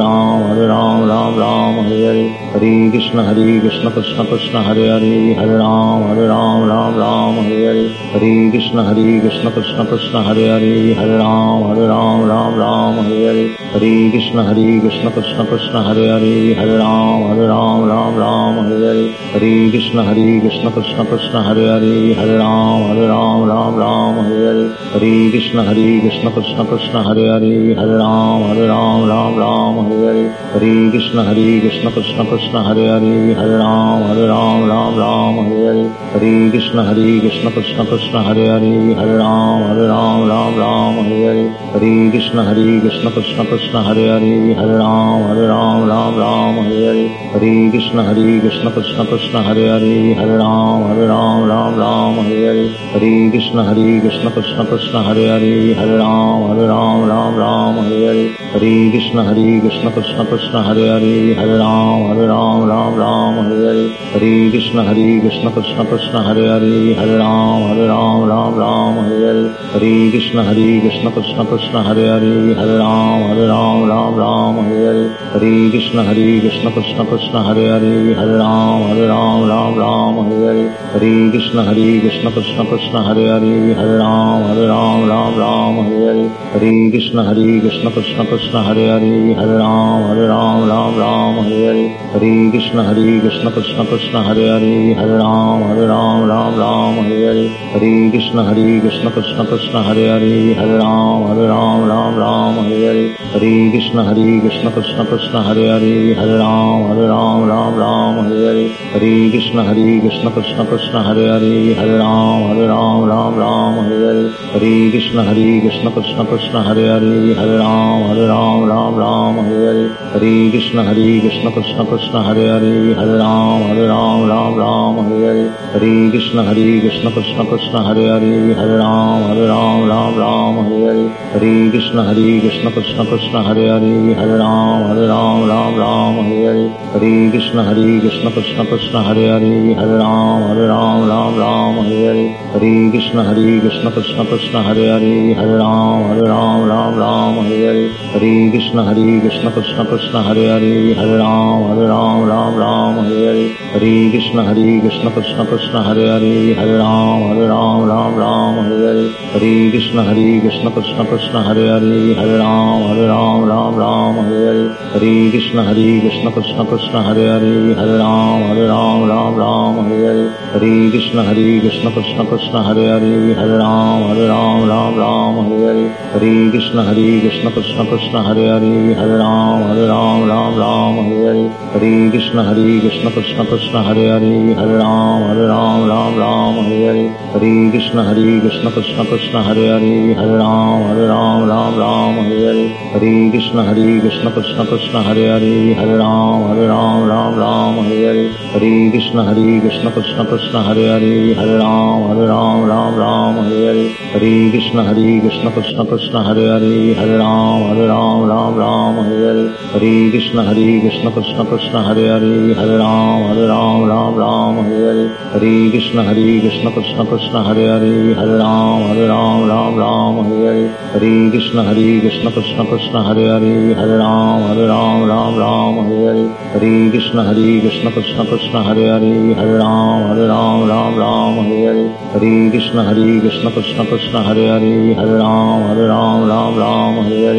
राम हरे हरे, हरे कृष्ण कृष्ण कृष्ण हरे हरे, हरे राम हरे हरे, हरे कृष्ण कृष्ण कृष्ण हरे हरे, हरे राम हरे हरे, हरे कृष्ण कृष्ण कृष्ण हरे हरे, हरे राम हरे हरे, हरे कृष्ण कृष्ण कृष्ण हरे हरे, हरे राम हरे हरे, हरे कृष्ण कृष्ण कृष्ण हरे हरे, हरे राम हरे हरे, हरे कृष्ण कृष्ण कृष्ण हरे हरे, हरे राम हरे हरे, हरे कृष्ण कृष्ण कृष्ण हरे हरे, हरे राम हरे हरे, हरे कृष्ण कृष्ण कृष्ण हरे हरे, हरे राम हरे हरे, हरे कृष्ण कृष्ण कृष्ण हरे हरे, हरे राम हरे हरे, हरे कृष्ण कृष्ण कृष्ण हरे हरे, हरे राम हरे हरे, हरे कृष्ण कृष्ण कृष्ण हरे हरे, हरे राम हरे हरे, हरे कृष्ण कृष्ण कृष्ण हरे हरे, हरे राम हरे Hare, Hare Krishna Krishna Krishna Hare Hare Hare Ram Ram Ram Hare Hare Hare Krishna Krishna Krishna Hare Hare Hare Ram Ram Ram Hare Hare Hare Krishna Krishna Krishna Hare Hare Hare Ram Ram Hare Hare Hare Krishna Krishna Krishna Hare Hare Hare Ram Ram Hare Hare Hare Krishna Krishna Krishna Hare Hare Hare Ram Ram Hare Hare Hare Krishna Krishna Krishna Hare Hare Hare Ram Ram Hare Hare Hare Krishna Krishna Krishna Hare Hare Hare Ram Ram Hare Hare Hare Krishna Krishna Krishna Hare Hare Hare Ram Ram Hare Hare Hare Krishna Krishna Krishna Hare Hare Hare Ram Ram Hare Hare Hare Krishna Krishna Krishna Hare Hare Hare Ram Ram Hare Hare Hare Krishna Krishna Krishna Hare Hare Hare Ram Ram Hare Hare Hare Krishna Krishna Krishna Hare Hare Hare Ram Ram Hare Hare Hare Krishna Krishna Krishna Hare Hare Hare Ram Ram Hare Hare Hare Krishna Krishna Krishna Hare Hare Hare Ram Ram Hare Hare Hare Krishna Krishna Krishna Hare Hare Hare Ram Ram Hare Hare Hare Krishna Krishna Krishna Hare Hare Hare Ram Ram Hare Hare Hare Krishna Krishna Krishna Hare Hare Hare Ram Ram Hare Hare Hare Krishna Krishna Krishna Hare Hare Hare Ram Ram Hare Hare Hare Krishna Krishna Krishna Hare Hare Hare Ram Ram Hare Hare Hare Krishna Krishna Krishna Hare Hare Hare Ram Ram Hare Hare Hare Krishna Krishna Krishna Hare Hare Hare Ram Ram Hare Hare Hare Krishna Krishna Krishna Hare Hare Hare Ram Ram Hare Hare Hare Krishna Krishna Krishna Hare Hare Hare Ram Ram Hare Hare Hare Krishna Krishna Krishna Hare Hare Hare Ram Ram Hare Hare Hare Krishna Krishna Krishna Hare Hare Hare Ram Ram Hare Hare Hare Krishna Krishna Krishna Hare Hare Hare Ram Ram Hare Hare Hare Krishna Krishna Krishna Hare Hare Hare Ram Ram Hare Hare Hare Krishna Krishna Krishna Hare Hare Hare Ram Ram Hare Hare Hare Krishna Krishna Krishna Hare Hare Hare Ram Ram Hare Hare Hare Krishna Krishna Krishna Hare Hare Hare Ram Hare Hare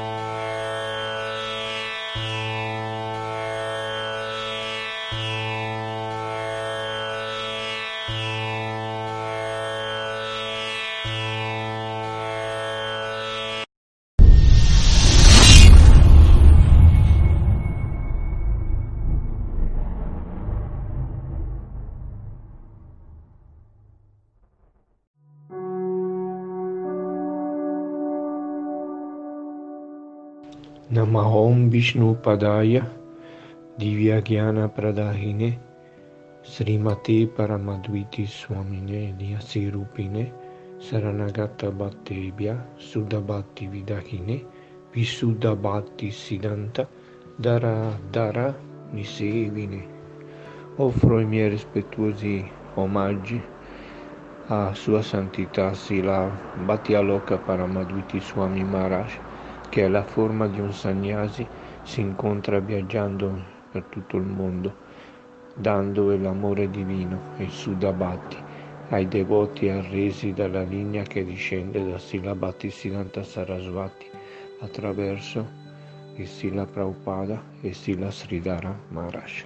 Namahom Vishnu Padaya Divyagyana Pradahine Srimate Paramadviti Swamine Vyasirupine Saranagata Bhattebhya Sudabhati Vidahine Visudabhati Siddhanta Dara Nisevine. Offro i miei rispettuosi omaggi a Sua Santità Srila Bhakti-Aloka Paramadviti Swami Maharaj, che è la forma di un sannyasi, si incontra viaggiando per tutto il mondo, dando l'amore divino e Sudabhati ai devoti arresi dalla linea che discende da Srila Bhaktisiddhanta Sarasvati attraverso il Srila Prabhupada e Srila Sridhara Maharaj.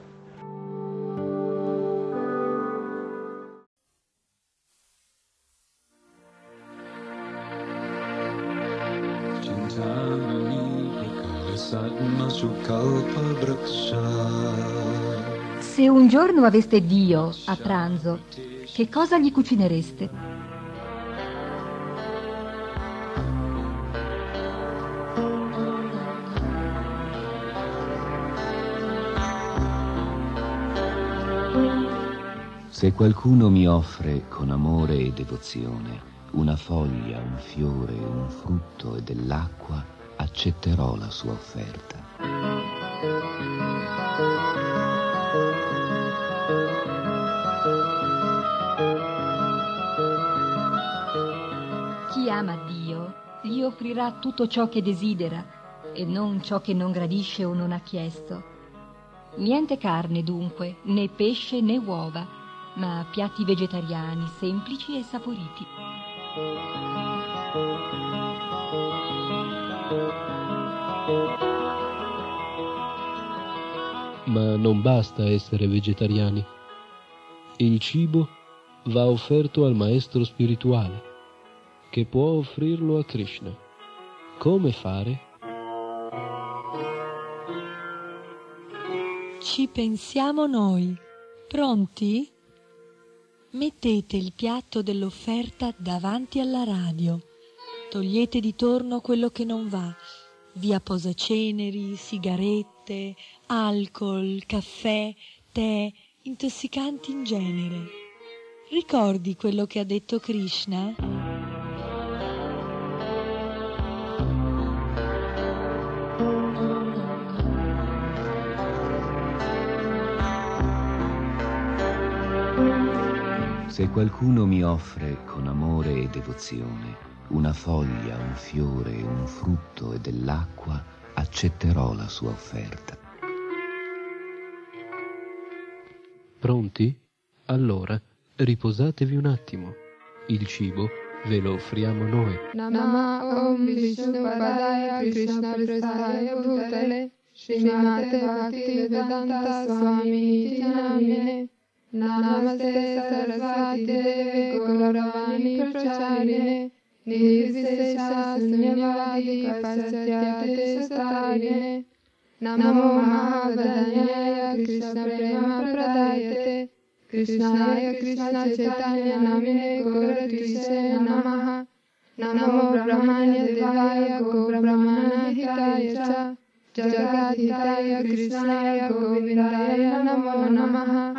Se un giorno aveste Dio a pranzo, che cosa gli cucinereste? Se qualcuno mi offre con amore e devozione una foglia, un fiore, un frutto e dell'acqua, accetterò la sua offerta. Chi ama Dio gli offrirà tutto ciò che desidera e non ciò che non gradisce o non ha chiesto. Niente carne dunque, né pesce né uova, ma piatti vegetariani semplici e saporiti. Ma non basta essere vegetariani. Il cibo va offerto al maestro spirituale, che può offrirlo a Krishna. Come fare? Ci pensiamo noi. Pronti? Mettete il piatto dell'offerta davanti alla radio. Togliete di torno quello che non va. Via posaceneri, sigarette, alcol, caffè, tè, intossicanti in genere. Ricordi quello che ha detto Krishna? Se qualcuno mi offre con amore e devozione una foglia, un fiore, un frutto e dell'acqua, accetterò la sua offerta. Pronti? Allora, riposatevi un attimo. Il cibo ve lo offriamo noi. Nama Om Vishnu Padaya Krishna Prasaya Bhutale Srimate Bhakti Vedanta Swami Iti Namine Namaste Sarasvati Deve Gauravani Pracharine Nirvisesha Sunyavadi Pasatyate Satarine Namo Mahadanyaya Krishna Prema Pradayate Krishnaya Krishna Chaitanya Namine Gaurakrishna Namaha Namo Brahmanya Devaya Go Brahmana Hitaya Cha Jagadhitaya Krishnaya Govindaya Namo Namaha.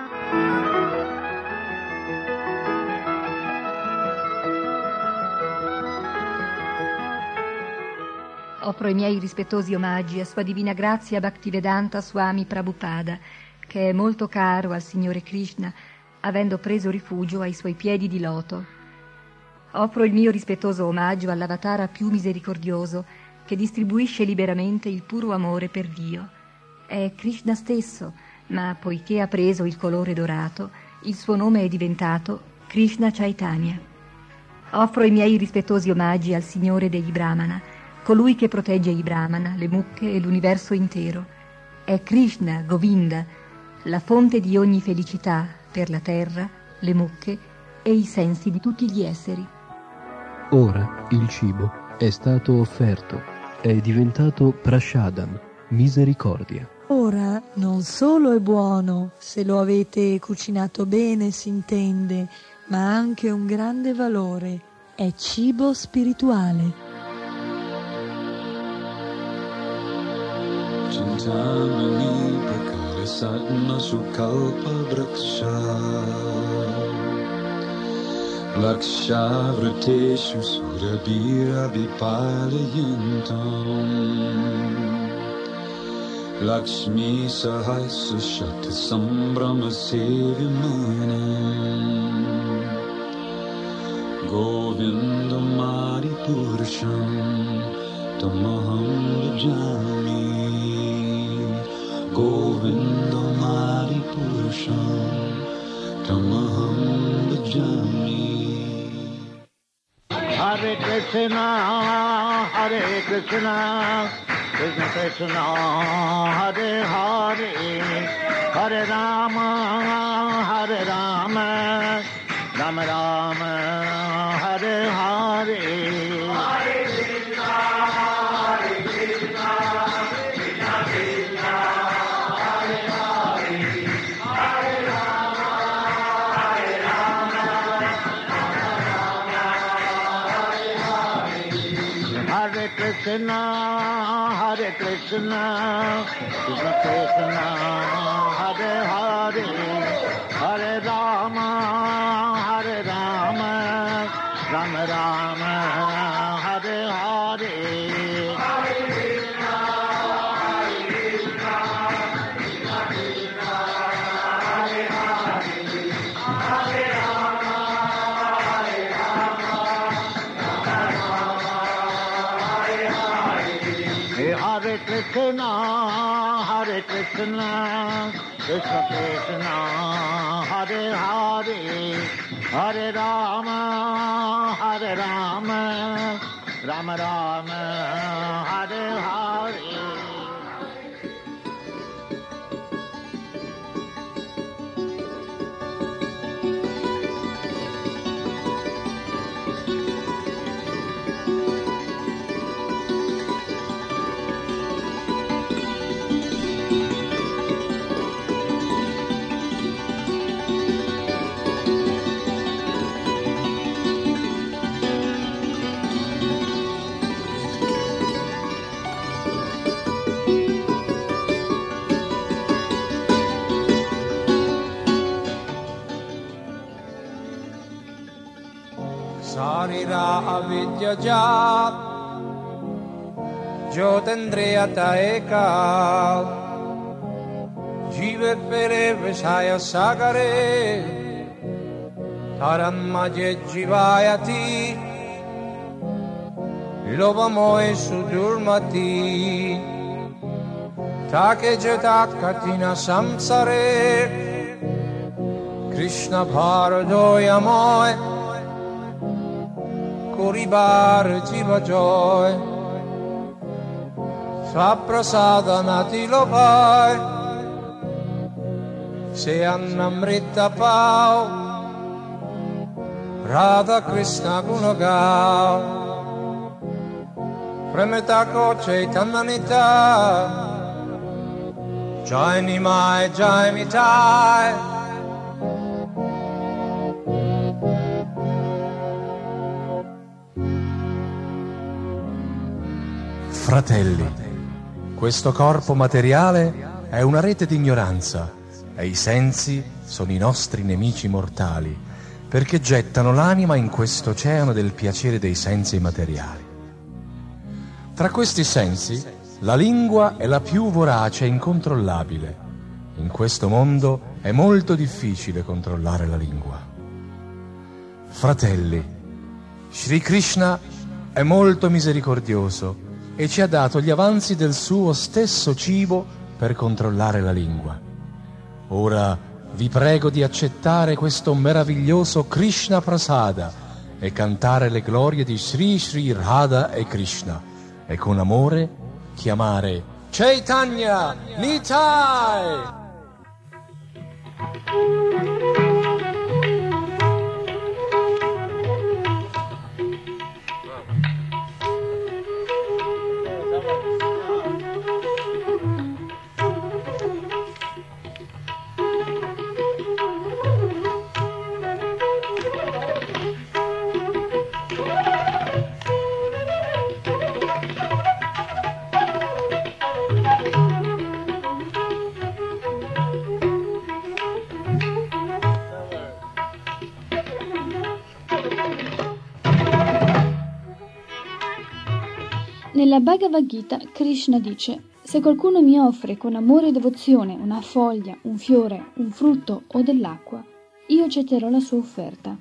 Offro i miei rispettosi omaggi a Sua Divina Grazia Bhaktivedanta Swami Prabhupada, che è molto caro al Signore Krishna, avendo preso rifugio ai suoi piedi di loto. Offro il mio rispettoso omaggio all'avatara più misericordioso, che distribuisce liberamente il puro amore per Dio. È Krishna stesso, ma poiché ha preso il colore dorato, il suo nome è diventato Krishna Chaitanya. Offro i miei rispettosi omaggi al Signore degli Brahmana, colui che protegge i Brahmana, le mucche e l'universo intero. È Krishna, Govinda, la fonte di ogni felicità per la terra, le mucche e i sensi di tutti gli esseri. Ora il cibo è stato offerto, è diventato prashadam, misericordia. Ora non solo è buono, se lo avete cucinato bene si intende, ma ha anche un grande valore. È cibo spirituale. Chintamani prakare satma sukalpa vraksha Laksha vrateshu surabhira vipalayantam Lakshmi sahasra shakti sambrama sevimanam Govinda Mari Purusham Tamaham Bhajami Govinda Mari Purusham Tamaham Bhajami. Hare Krishna, Krishna Krishna, Hare Hare, Hare Rama, Rama Rama, Hare Hare. Krishna, Hare Krishna, Krishna Krishna, Hare Hare, Hare Rama, Rama Rama, Hare Hare. Hare Hare Krishna, Hare Krishna, Krishna Krishna, Hare Hare, Hare Rama, Rama Rama, Hare Hare. Sarira avidya jat Jyotendriyata ekal Jive pere vishaya sagare Taran maje jivayati Lovamoe sudurmati Take jetat katina samsare Krishna bharadoyamoe Koribar jiva joy Svaprasadanati lopai Se annamrita pau Radha Krishna gunagau Premita ko Chaitananita Jai Nimai Jai Mitai Fratelli, questo corpo materiale è una rete di ignoranza e i sensi sono i nostri nemici mortali, perché gettano l'anima in questo oceano del piacere dei sensi materiali. Tra questi sensi, la lingua è la più vorace e incontrollabile. In questo mondo è molto difficile controllare la lingua. Fratelli, Sri Krishna è molto misericordioso e ci ha dato gli avanzi del suo stesso cibo per controllare la lingua. Ora vi prego di accettare questo meraviglioso Krishna Prasada e cantare le glorie di Sri Sri Radha e Krishna e con amore chiamare Chaitanya Nitai! Nella Bhagavad Gita, Krishna dice: se qualcuno mi offre con amore e devozione una foglia, un fiore, un frutto o dell'acqua, io accetterò la sua offerta.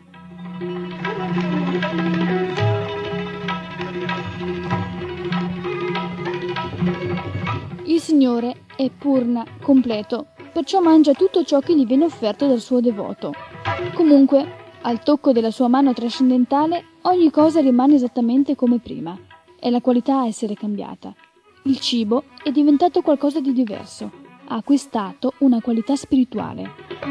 Il Signore è Purna, completo, perciò mangia tutto ciò che gli viene offerto dal suo devoto. Comunque, al tocco della sua mano trascendentale, ogni cosa rimane esattamente come prima. È la qualità a essere cambiata. Il cibo è diventato qualcosa di diverso, ha acquistato una qualità spirituale.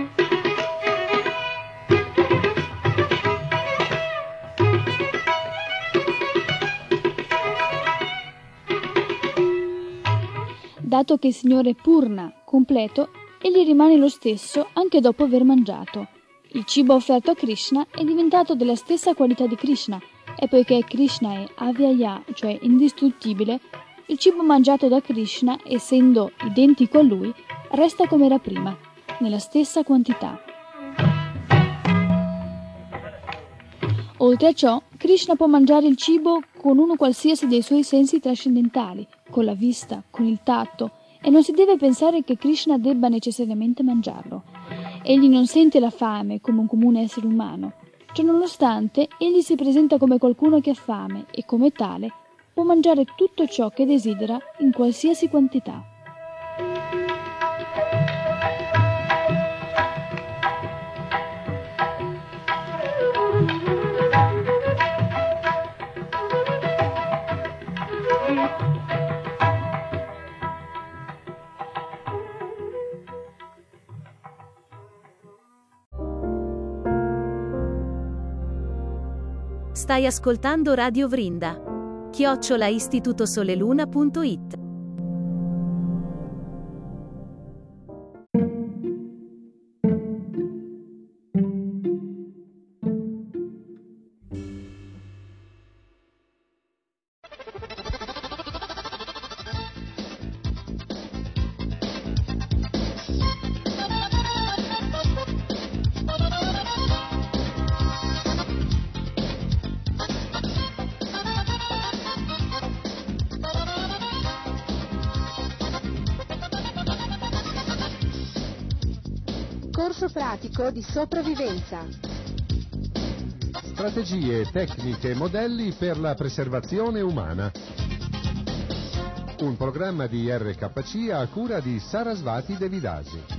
Dato che il Signore è Purna, completo, egli rimane lo stesso anche dopo aver mangiato. Il cibo offerto a Krishna è diventato della stessa qualità di Krishna, e poiché Krishna è Avyaya, cioè indistruttibile, il cibo mangiato da Krishna, essendo identico a lui, resta come era prima, nella stessa quantità. Oltre a ciò, Krishna può mangiare il cibo con uno qualsiasi dei suoi sensi trascendentali, con la vista, con il tatto, e non si deve pensare che Krishna debba necessariamente mangiarlo. Egli non sente la fame come un comune essere umano. Ciononostante, egli si presenta come qualcuno che ha fame e, come tale, può mangiare tutto ciò che desidera in qualsiasi quantità. Stai ascoltando Radio Vrinda. @istitutosoleluna.it. Corso pratico di sopravvivenza. Strategie, tecniche e modelli per la preservazione umana. Un programma di RKC a cura di Sarasvati Devidasi.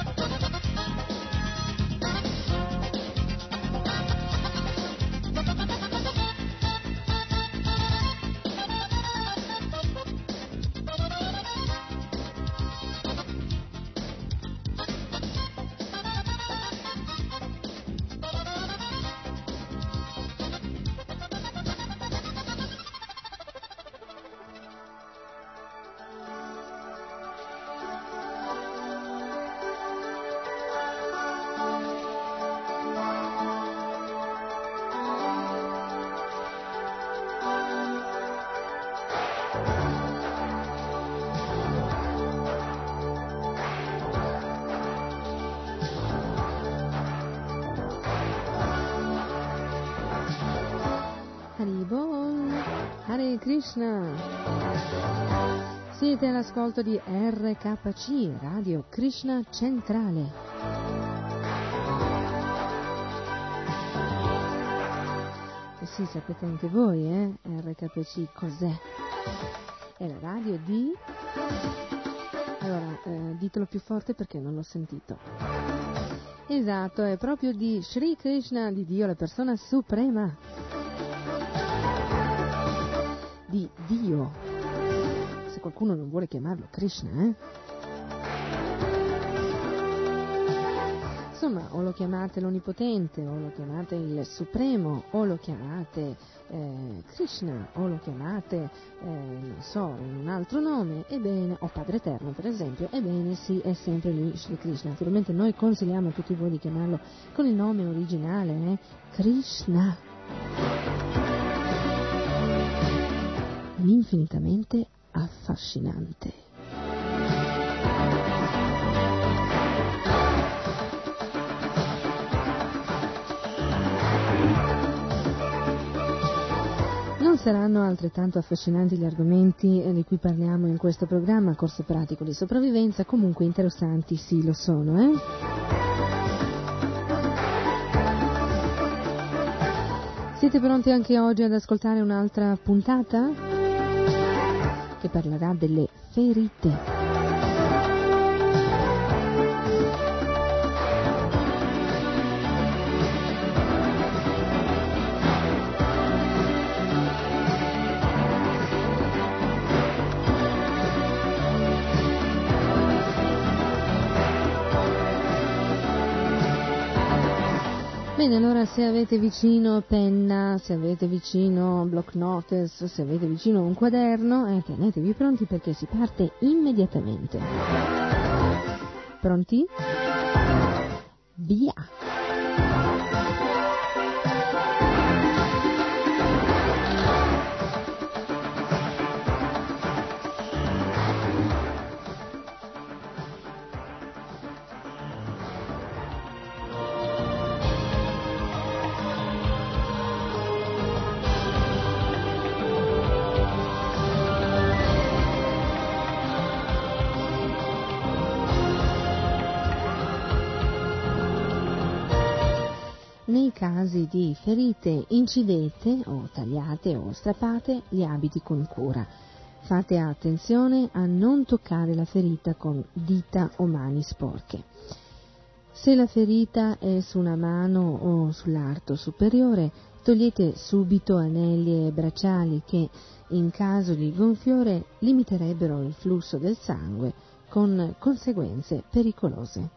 Hare Krishna. Siete all'ascolto di RKC, Radio Krishna Centrale. E sì, sapete anche voi, RKC cos'è? È la radio di... Allora, ditelo più forte perché non l'ho sentito. Esatto, è proprio di Sri Krishna, di Dio, la persona suprema. Di Dio, se qualcuno non vuole chiamarlo Krishna, Insomma, o lo chiamate l'Onnipotente, o lo chiamate il Supremo, o lo chiamate Krishna, o lo chiamate, non so, in un altro nome, ebbene, o Padre Eterno per esempio, ebbene sì, è sempre lui, Shri Krishna. Naturalmente noi consigliamo a tutti voi di chiamarlo con il nome originale, Krishna. Infinitamente affascinante. Non saranno altrettanto affascinanti gli argomenti di cui parliamo in questo programma, corso pratico di sopravvivenza, comunque interessanti sì lo sono, Siete pronti anche oggi ad ascoltare un'altra puntata? Che parlerà delle ferite. Bene, allora se avete vicino penna, se avete vicino block notice, se avete vicino un quaderno, tenetevi pronti perché si parte immediatamente. Pronti? Via! nei casi di ferite incidete o tagliate o strappate gli abiti con cura. Fate attenzione a non toccare la ferita con dita o mani sporche. Se la ferita è su una mano o sull'arto superiore, togliete subito anelli e bracciali che, in caso di gonfiore, limiterebbero il flusso del sangue con conseguenze pericolose.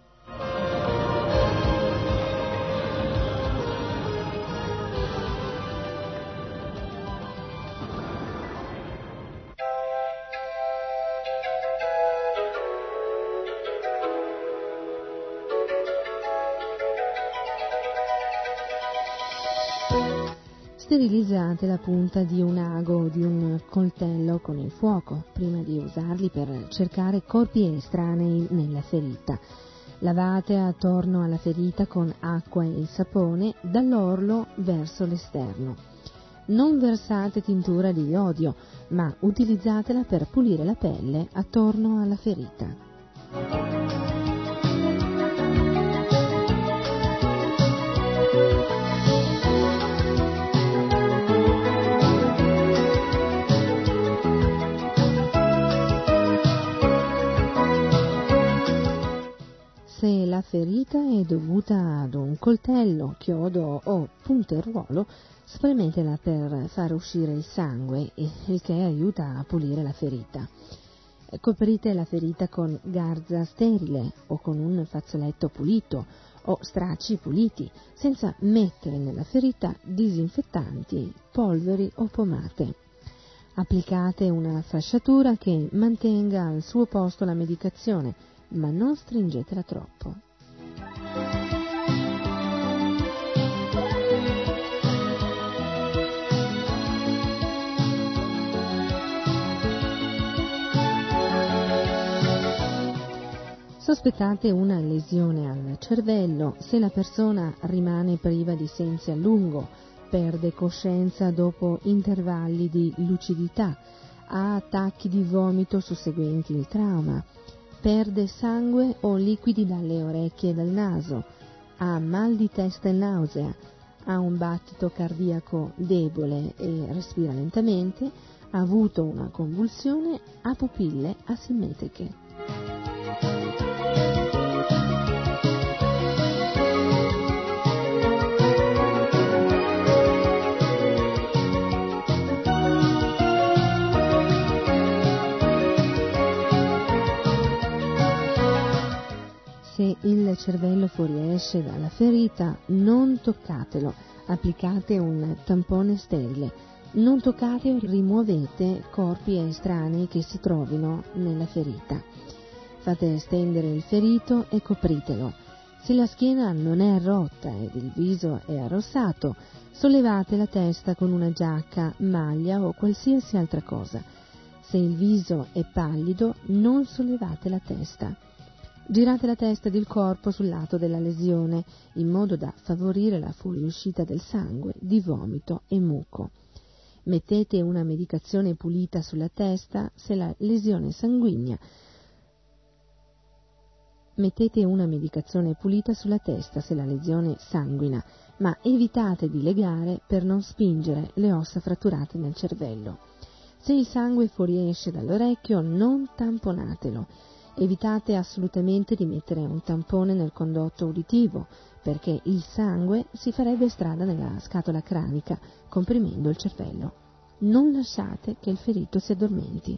Sterilizzate la punta di un ago o di un coltello con il fuoco prima di usarli per cercare corpi estranei nella ferita. Lavate attorno alla ferita con acqua e sapone dall'orlo verso l'esterno. Non versate tintura di iodio, ma utilizzatela per pulire la pelle attorno alla ferita. Se la ferita è dovuta ad un coltello, chiodo o punteruolo, spremetela per far uscire il sangue, il che aiuta a pulire la ferita. Coprite la ferita con garza sterile o con un fazzoletto pulito o stracci puliti, senza mettere nella ferita disinfettanti, polveri o pomate. Applicate una fasciatura che mantenga al suo posto la medicazione, ma non stringetela troppo. Sospettate una lesione al cervello se la persona rimane priva di sensi a lungo, perde coscienza dopo intervalli di lucidità, ha attacchi di vomito susseguenti il trauma, perde sangue o liquidi dalle orecchie e dal naso, ha mal di testa e nausea, ha un battito cardiaco debole e respira lentamente, ha avuto una convulsione, ha pupille asimmetriche. Se il cervello fuoriesce dalla ferita, non toccatelo, applicate un tampone sterile. Non toccate o rimuovete corpi estranei che si trovino nella ferita. Fate stendere il ferito e copritelo. Se la schiena non è rotta ed il viso è arrossato, sollevate la testa con una giacca, maglia o qualsiasi altra cosa. Se il viso è pallido, non sollevate la testa. Girate la testa ed il corpo sul lato della lesione, in modo da favorire la fuoriuscita del sangue, di vomito e muco. Mettete una medicazione pulita sulla testa se la lesione sanguigna. Mettete una medicazione pulita sulla testa se la lesione sanguina, ma evitate di legare per non spingere le ossa fratturate nel cervello. Se il sangue fuoriesce dall'orecchio, non tamponatelo. Evitate assolutamente di mettere un tampone nel condotto uditivo, perché il sangue si farebbe strada nella scatola cranica, comprimendo il cervello. Non lasciate che il ferito si addormenti.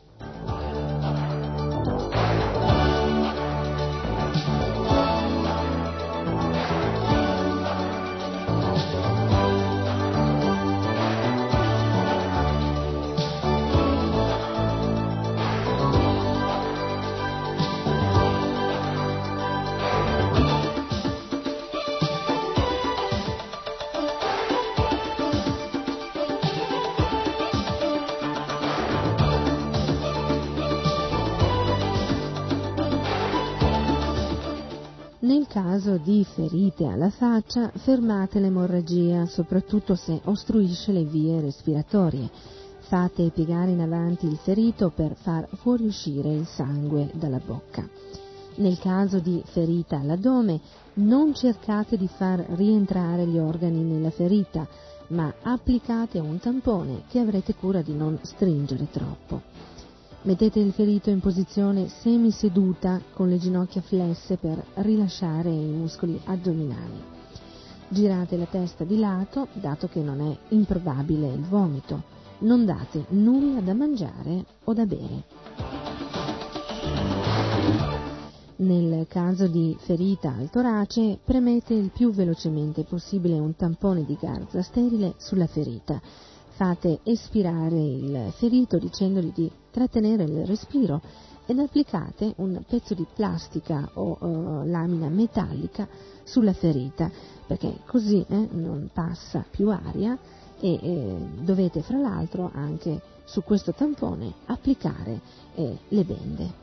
Nel caso di ferite alla faccia, fermate l'emorragia, soprattutto se ostruisce le vie respiratorie. Fate piegare in avanti il ferito per far fuoriuscire il sangue dalla bocca. Nel caso di ferita all'addome, non cercate di far rientrare gli organi nella ferita, ma applicate un tampone che avrete cura di non stringere troppo. Mettete il ferito in posizione semiseduta con le ginocchia flesse per rilasciare i muscoli addominali. Girate la testa di lato, dato che non è improbabile il vomito. Non date nulla da mangiare o da bere. Nel caso di ferita al torace, premete il più velocemente possibile un tampone di garza sterile sulla ferita. Fate espirare il ferito dicendogli di trattenere il respiro ed applicate un pezzo di plastica o lamina metallica sulla ferita, perché così non passa più aria e dovete fra l'altro anche su questo tampone applicare le bende.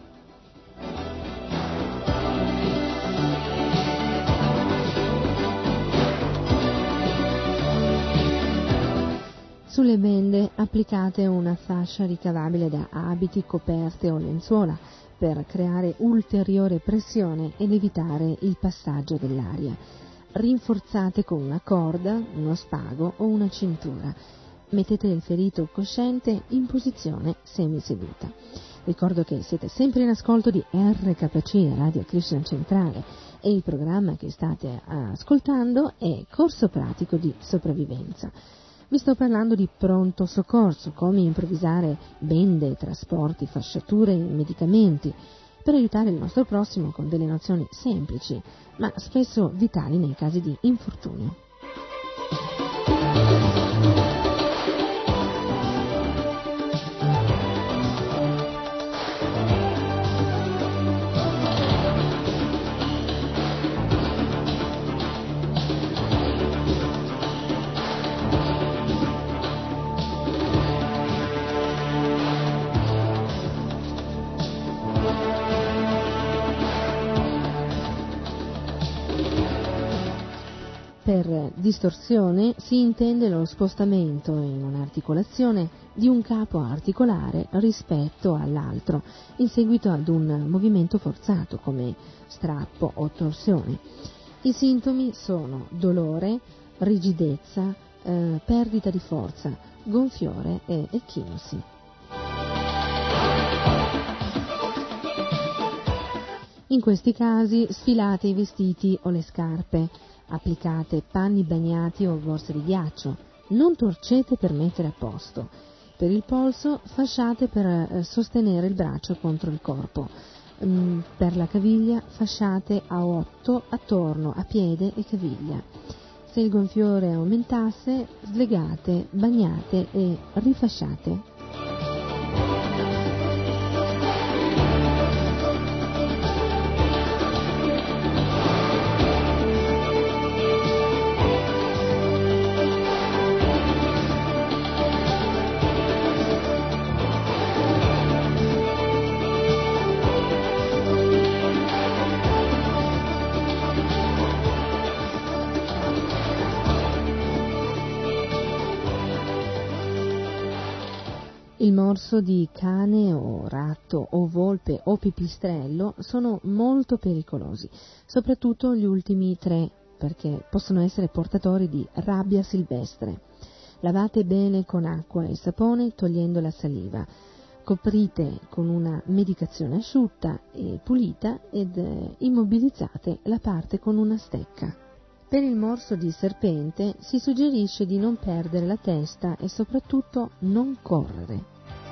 Sulle bende applicate una fascia ricavabile da abiti, coperte o lenzuola per creare ulteriore pressione ed evitare il passaggio dell'aria. Rinforzate con una corda, uno spago o una cintura. Mettete il ferito cosciente in posizione semiseduta. Ricordo che siete sempre in ascolto di RKC, Radio Krishna Centrale, e il programma che state ascoltando è Corso Pratico di Sopravvivenza. Vi sto parlando di pronto soccorso, come improvvisare bende, trasporti, fasciature e medicamenti per aiutare il nostro prossimo con delle nozioni semplici, ma spesso vitali nei casi di infortunio. Per distorsione si intende lo spostamento in un'articolazione di un capo articolare rispetto all'altro in seguito ad un movimento forzato come strappo o torsione. I sintomi sono dolore, rigidezza, perdita di forza, gonfiore e echinosi. In questi casi sfilate i vestiti o le scarpe. Applicate panni bagnati o borse di ghiaccio, non torcete per mettere a posto. Per il polso fasciate per sostenere il braccio contro il corpo. Per la caviglia fasciate a 8 attorno a piede e caviglia. Se il gonfiore aumentasse, slegate, bagnate e rifasciate. Il morso di cane o ratto o volpe o pipistrello sono molto pericolosi, soprattutto gli ultimi 3, perché possono essere portatori di rabbia silvestre. Lavate bene con acqua e sapone togliendo la saliva. Coprite con una medicazione asciutta e pulita ed immobilizzate la parte con una stecca. Per il morso di serpente si suggerisce di non perdere la testa e soprattutto non correre.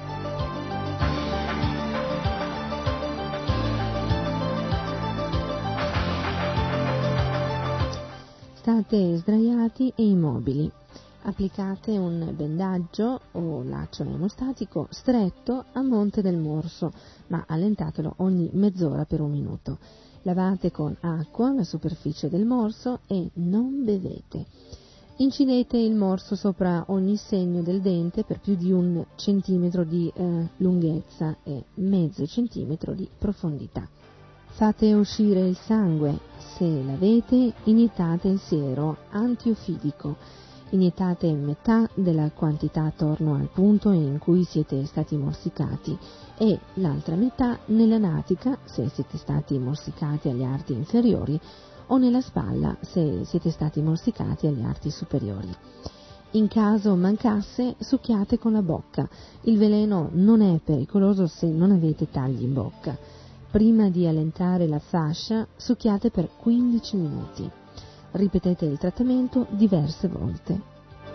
State sdraiati e immobili. Applicate un bendaggio o laccio emostatico stretto a monte del morso, ma allentatelo ogni mezz'ora per 1 minuto. Lavate con acqua la superficie del morso e non bevete. Incidete il morso sopra ogni segno del dente per più di 1 centimetro di lunghezza e mezzo centimetro di profondità. Fate uscire il sangue. Se l'avete, iniettate il siero antiofidico. Iniettate metà della quantità attorno al punto in cui siete stati morsicati e l'altra metà nella natica se siete stati morsicati agli arti inferiori o nella spalla se siete stati morsicati agli arti superiori. In caso mancasse, succhiate con la bocca. Il veleno non è pericoloso se non avete tagli in bocca. Prima di allentare la fascia, succhiate per 15 minuti. Ripetete il trattamento diverse volte.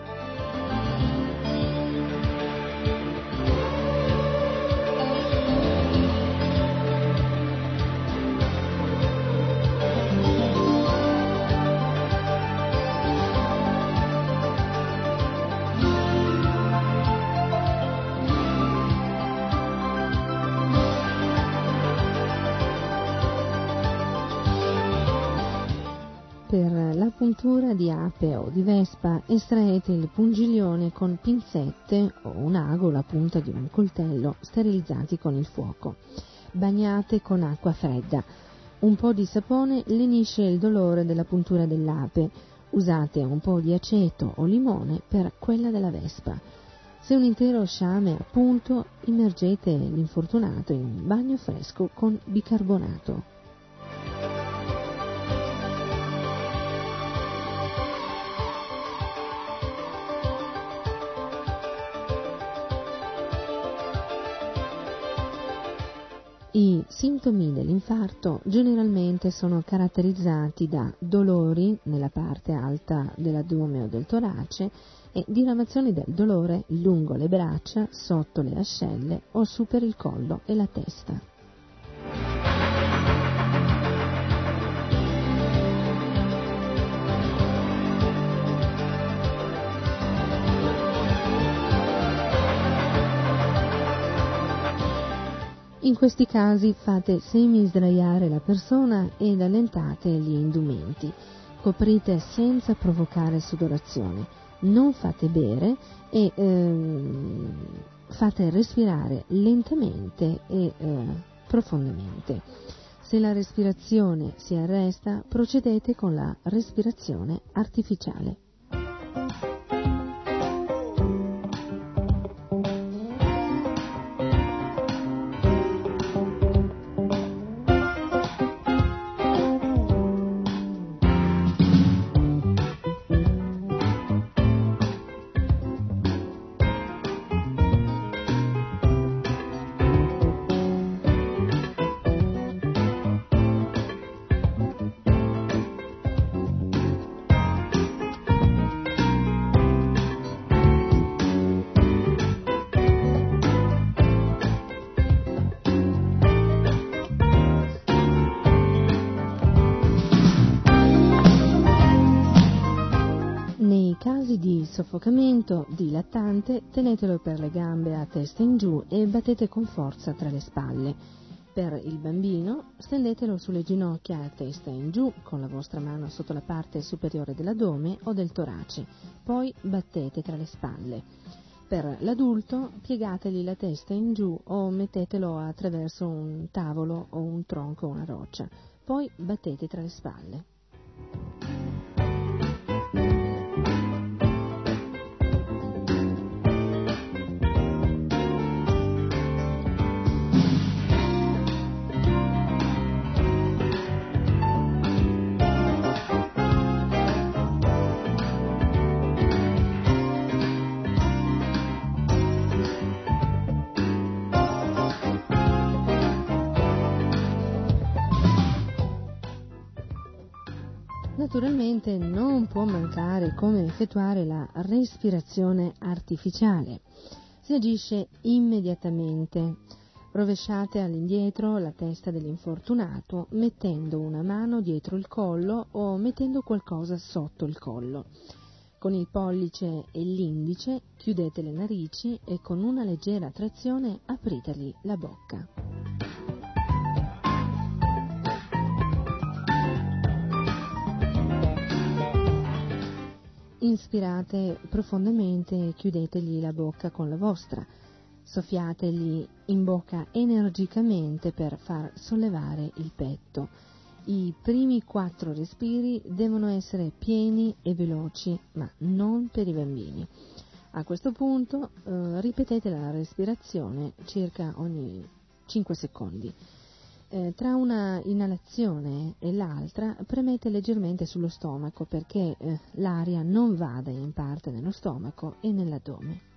Per la puntura di ape o di vespa estraete il pungiglione con pinzette o un ago o la punta di un coltello sterilizzati con il fuoco. Bagnate con acqua fredda. Un po' di sapone lenisce il dolore della puntura dell'ape. Usate un po' di aceto o limone per quella della vespa. Se un intero sciame è a punto, immergete l'infortunato in un bagno fresco con bicarbonato. I sintomi dell'infarto generalmente sono caratterizzati da dolori nella parte alta dell'addome o del torace e diramazioni del dolore lungo le braccia, sotto le ascelle o su per il collo e la testa. In questi casi fate semi-sdraiare la persona ed allentate gli indumenti. Coprite senza provocare sudorazione. Non fate bere e fate respirare lentamente e profondamente. Se la respirazione si arresta, procedete con la respirazione artificiale. Soffocamento dilattante, tenetelo per le gambe a testa in giù e battete con forza tra le spalle. Per il bambino, stendetelo sulle ginocchia a testa in giù con la vostra mano sotto la parte superiore dell'addome o del torace, poi battete tra le spalle. Per l'adulto, piegategli la testa in giù o mettetelo attraverso un tavolo o un tronco o una roccia, poi battete tra le spalle. Naturalmente non può mancare come effettuare la respirazione artificiale. Si agisce immediatamente. Rovesciate all'indietro la testa dell'infortunato mettendo una mano dietro il collo o mettendo qualcosa sotto il collo. Con il pollice e l'indice chiudete le narici e con una leggera trazione apritegli la bocca. Inspirate profondamente e chiudetegli la bocca con la vostra. Soffiategli in bocca energicamente per far sollevare il petto. I primi 4 respiri devono essere pieni e veloci, ma non per i bambini. A questo punto ripetete la respirazione circa ogni 5 secondi. Tra una inalazione e l'altra premete leggermente sullo stomaco perché l'aria non vada in parte nello stomaco e nell'addome.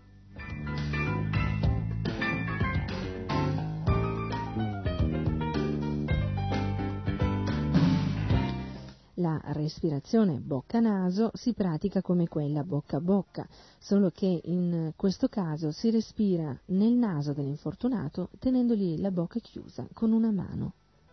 La respirazione bocca-naso si pratica come quella bocca-bocca, solo che in questo caso si respira nel naso dell'infortunato tenendogli la bocca chiusa con una mano.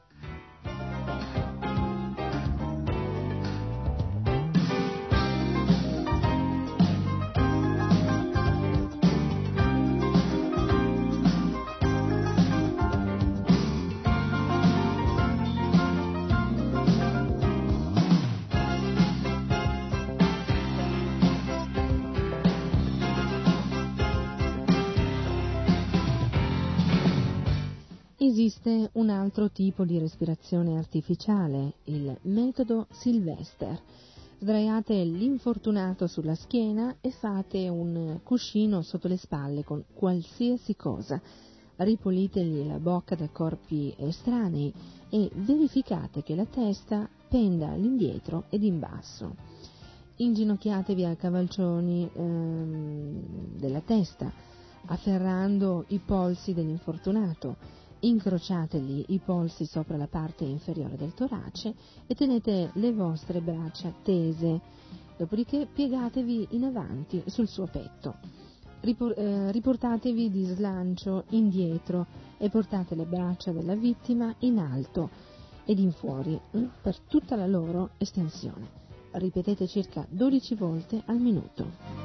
Esiste un altro tipo di respirazione artificiale, il metodo Sylvester. Sdraiate l'infortunato sulla schiena e fate un cuscino sotto le spalle con qualsiasi cosa. Ripulitegli la bocca da corpi estranei e verificate che la testa penda all'indietro ed in basso. Inginocchiatevi a cavalcioni della testa, afferrando i polsi dell'infortunato. Incrociategli i polsi sopra la parte inferiore del torace e tenete le vostre braccia tese, dopodiché piegatevi in avanti sul suo petto. Riportatevi di slancio indietro e portate le braccia della vittima in alto ed in fuori per tutta la loro estensione. Ripetete circa 12 volte al minuto.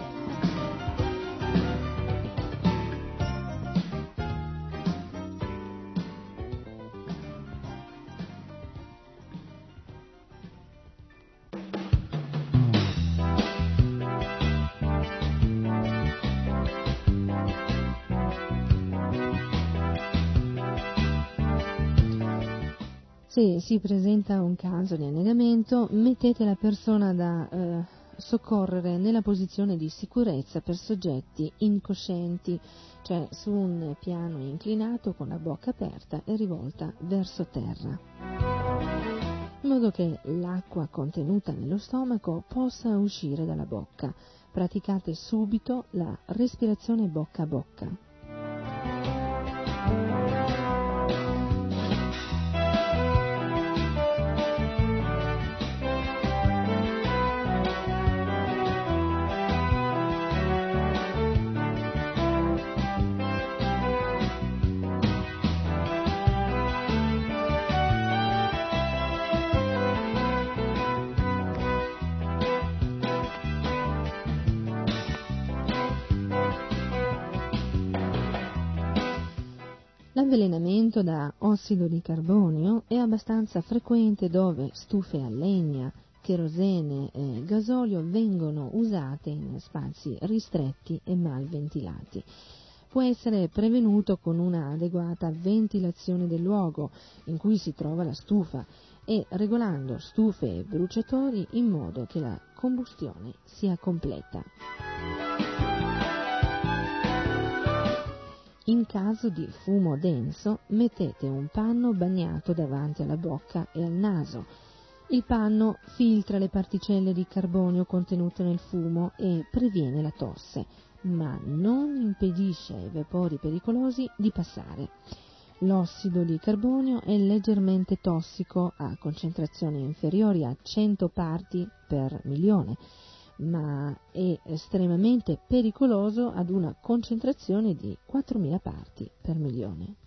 Se si presenta un caso di annegamento, mettete la persona da soccorrere nella posizione di sicurezza per soggetti incoscienti, cioè su un piano inclinato con la bocca aperta e rivolta verso terra, in modo che l'acqua contenuta nello stomaco possa uscire dalla bocca. Praticate subito la respirazione bocca a bocca. L'avvelenamento da ossido di carbonio è abbastanza frequente dove stufe a legna, cherosene e gasolio vengono usate in spazi ristretti e mal ventilati. Può essere prevenuto con una adeguata ventilazione del luogo in cui si trova la stufa e regolando stufe e bruciatori in modo che la combustione sia completa. In caso di fumo denso, mettete un panno bagnato davanti alla bocca e al naso. Il panno filtra le particelle di carbonio contenute nel fumo e previene la tosse, ma non impedisce ai vapori pericolosi di passare. L'ossido di carbonio è leggermente tossico a concentrazioni inferiori a 100 parti per milione, ma è estremamente pericoloso ad una concentrazione di 4.000 parti per milione.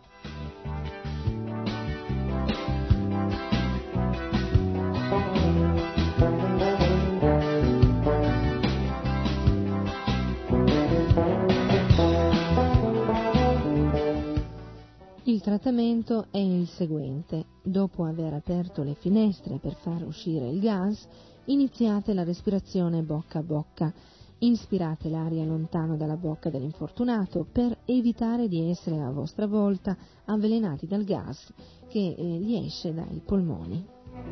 Il trattamento è il seguente. Dopo aver aperto le finestre per far uscire il gas, iniziate la respirazione bocca a bocca. Inspirate l'aria lontano dalla bocca dell'infortunato per evitare di essere a vostra volta avvelenati dal gas che gli esce dai polmoni.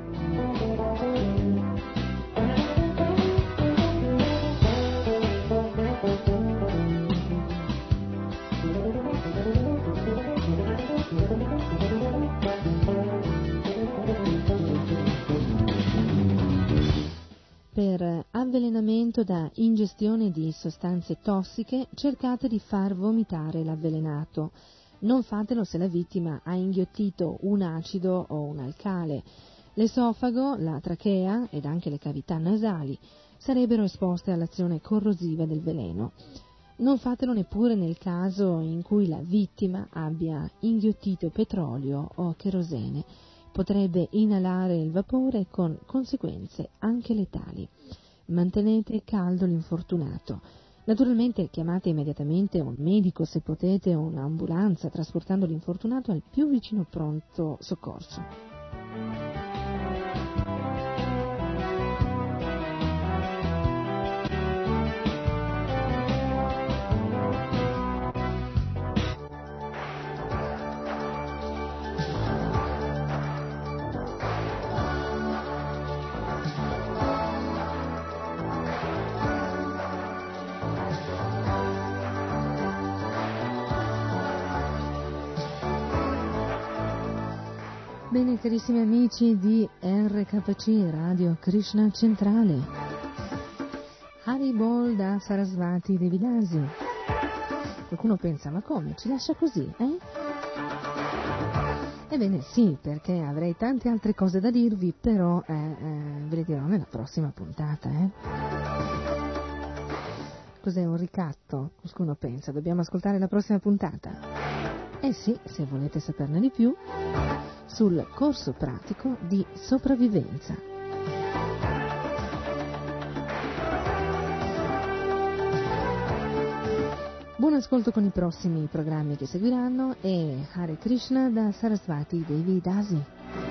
Per avvelenamento da ingestione di sostanze tossiche cercate di far vomitare l'avvelenato. Non fatelo se la vittima ha inghiottito un acido o un alcale. L'esofago, la trachea ed anche le cavità nasali sarebbero esposte all'azione corrosiva del veleno. Non fatelo neppure nel caso in cui la vittima abbia inghiottito petrolio o cherosene. Potrebbe inalare il vapore con conseguenze anche letali. Mantenete caldo l'infortunato. Naturalmente chiamate immediatamente un medico se potete o un'ambulanza trasportando l'infortunato al più vicino pronto soccorso. Bene, carissimi amici di RKC Radio Krishna Centrale, Haribol da Sarasvati Devidasi. Qualcuno pensa, ma come? Ci lascia così, eh? Ebbene sì, perché avrei tante altre cose da dirvi, però ve le dirò nella prossima puntata, Cos'è un ricatto? Qualcuno pensa, dobbiamo ascoltare la prossima puntata? Eh sì, se volete saperne di più, sul corso pratico di sopravvivenza. Buon ascolto con i prossimi programmi che seguiranno e Hare Krishna da Sarasvati Devi Dasi.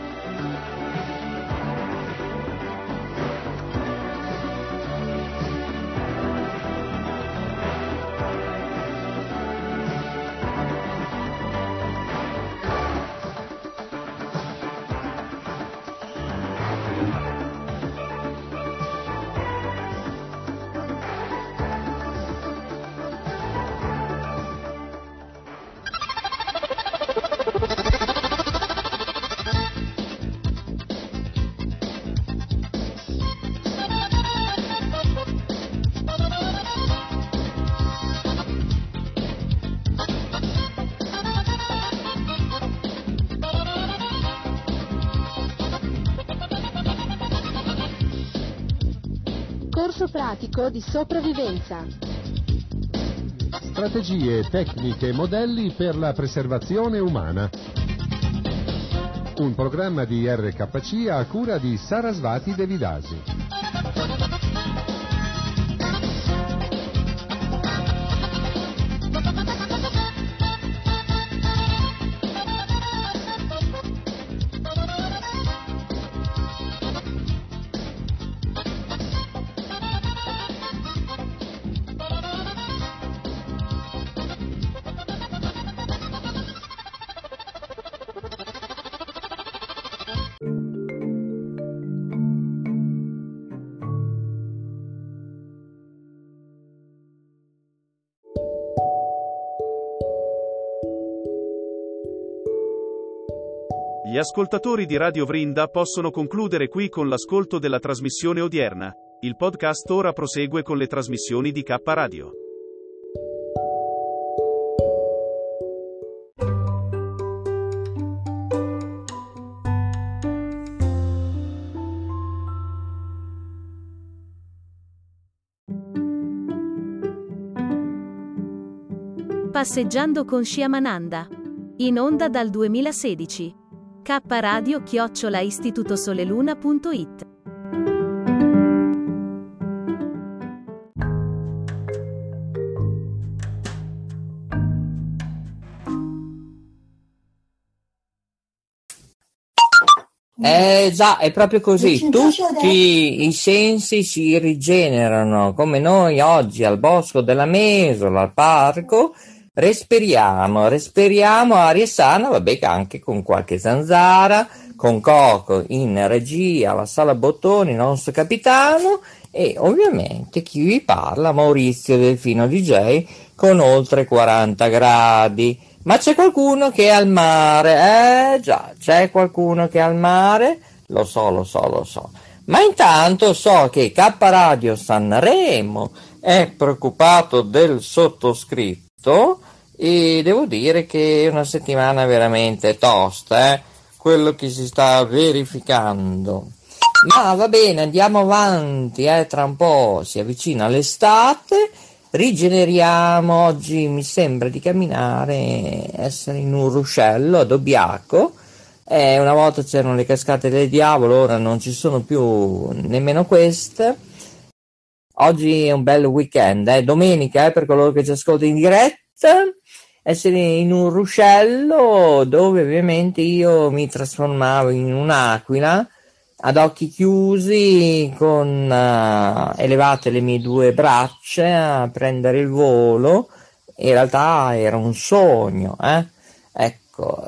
Corso pratico di sopravvivenza. Strategie, tecniche e modelli per la preservazione umana. Un programma di RKC a cura di Sarasvati Devidasi. Gli ascoltatori di Radio Vrinda possono concludere qui con l'ascolto della trasmissione odierna. Il podcast ora prosegue con le trasmissioni di K Radio. Passeggiando con Shyamananda. In onda dal 2016. kradio@istitutosoleluna.it Già, è proprio così, tutti i sensi si rigenerano, come noi oggi al Bosco della Mesola, al parco, respiriamo aria sana, vabbè che anche con qualche zanzara, con Coco in regia, la Sala Bottoni, il nostro capitano, e ovviamente chi vi parla, Maurizio Delfino DJ, con oltre 40 gradi. Ma c'è qualcuno che è al mare, già, c'è qualcuno che è al mare, lo so. Ma intanto so che K Radio Sanremo è preoccupato del sottoscritto e devo dire che è una settimana veramente tosta, quello che si sta verificando. Ma va bene, andiamo avanti, tra un po' si avvicina l'estate. Rigeneriamo, oggi mi sembra di camminare, essere in un ruscello ad Obbiaco, una volta c'erano le cascate del diavolo, ora non ci sono più nemmeno queste. Oggi è un bel weekend, domenica, per coloro che ci ascoltano in diretta, essere in un ruscello dove ovviamente io mi trasformavo in un'aquila, ad occhi chiusi, con elevate le mie due braccia a prendere il volo. In realtà era un sogno, ecco,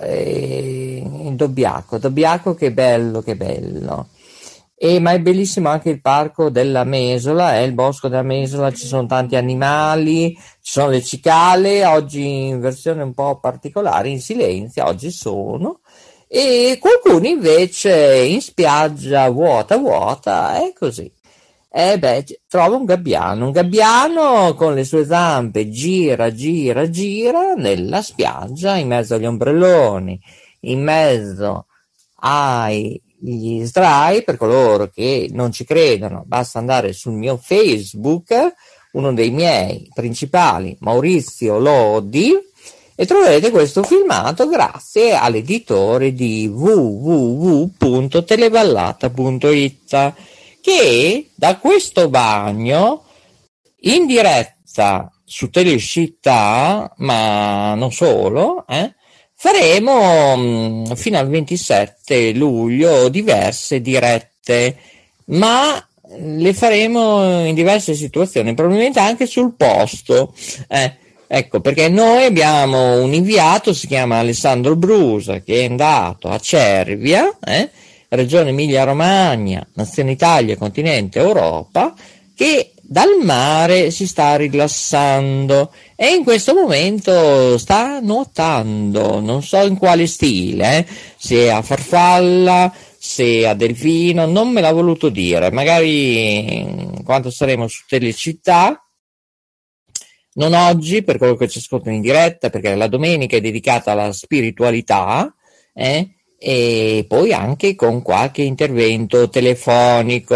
Dobbiaco, che bello, ma è bellissimo anche il parco della Mesola, il bosco della Mesola, ci sono tanti animali, ci sono le cicale, oggi in versione un po' particolare, in silenzio, oggi sono, e qualcuno invece in spiaggia vuota, è così. Trova un gabbiano con le sue zampe, gira nella spiaggia, in mezzo agli ombrelloni, in mezzo agli sdrai. Per coloro che non ci credono, basta andare sul mio Facebook, uno dei miei principali, Maurizio Lodi, e troverete questo filmato grazie all'editore di www.televallata.it, che da questo bagno in diretta su Telescittà, ma non solo, faremo fino al 27 luglio diverse dirette, ma le faremo in diverse situazioni, probabilmente anche sul posto, ecco, perché noi abbiamo un inviato, si chiama Alessandro Brusa, che è andato a Cervia, Regione Emilia-Romagna, Nazione Italia, continente Europa, che dal mare si sta rilassando e in questo momento sta nuotando, non so in quale stile, se a farfalla, se a delfino, non me l'ha voluto dire, magari quando saremo su Telecittà, non oggi per quello che ci ascoltano in diretta, perché la domenica è dedicata alla spiritualità, e poi anche con qualche intervento telefonico,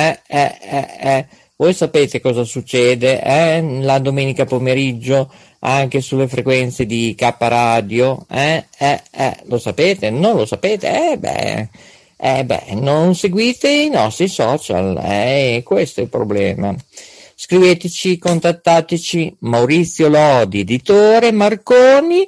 Voi sapete cosa succede la domenica pomeriggio anche sulle frequenze di K Radio? Lo sapete? Non lo sapete? Non seguite i nostri social, questo è il problema. Scriveteci, contattateci, Maurizio Lodi, editore, Marconi,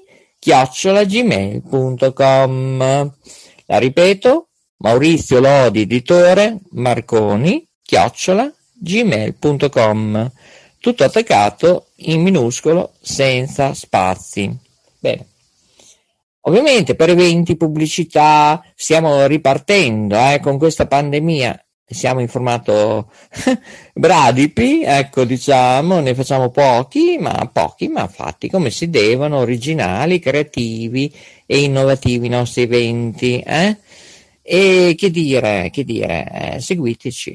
@gmail.com. La ripeto, Maurizio Lodi, editore, Marconi, @gmail.com. Tutto attaccato in minuscolo, senza spazi. Bene. Ovviamente per eventi, pubblicità, stiamo ripartendo con questa pandemia. Siamo in formato bradipi, ecco, diciamo, ne facciamo pochi ma fatti come si devono, originali, creativi e innovativi i nostri eventi, E che dire, seguiteci,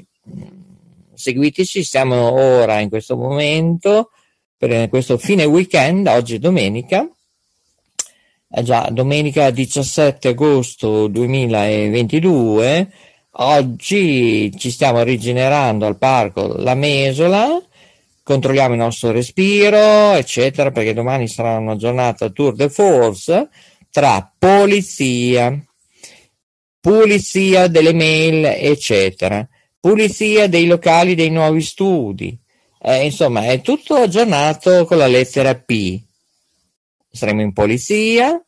siamo ora in questo momento, per questo fine weekend, oggi è domenica, già domenica 17 agosto 2022, oggi ci stiamo rigenerando al parco La Mesola, controlliamo il nostro respiro, eccetera, perché domani sarà una giornata tour de force tra pulizia delle mail, eccetera, pulizia dei locali dei nuovi studi, insomma è tutto aggiornato con la lettera P. Saremo in polizia,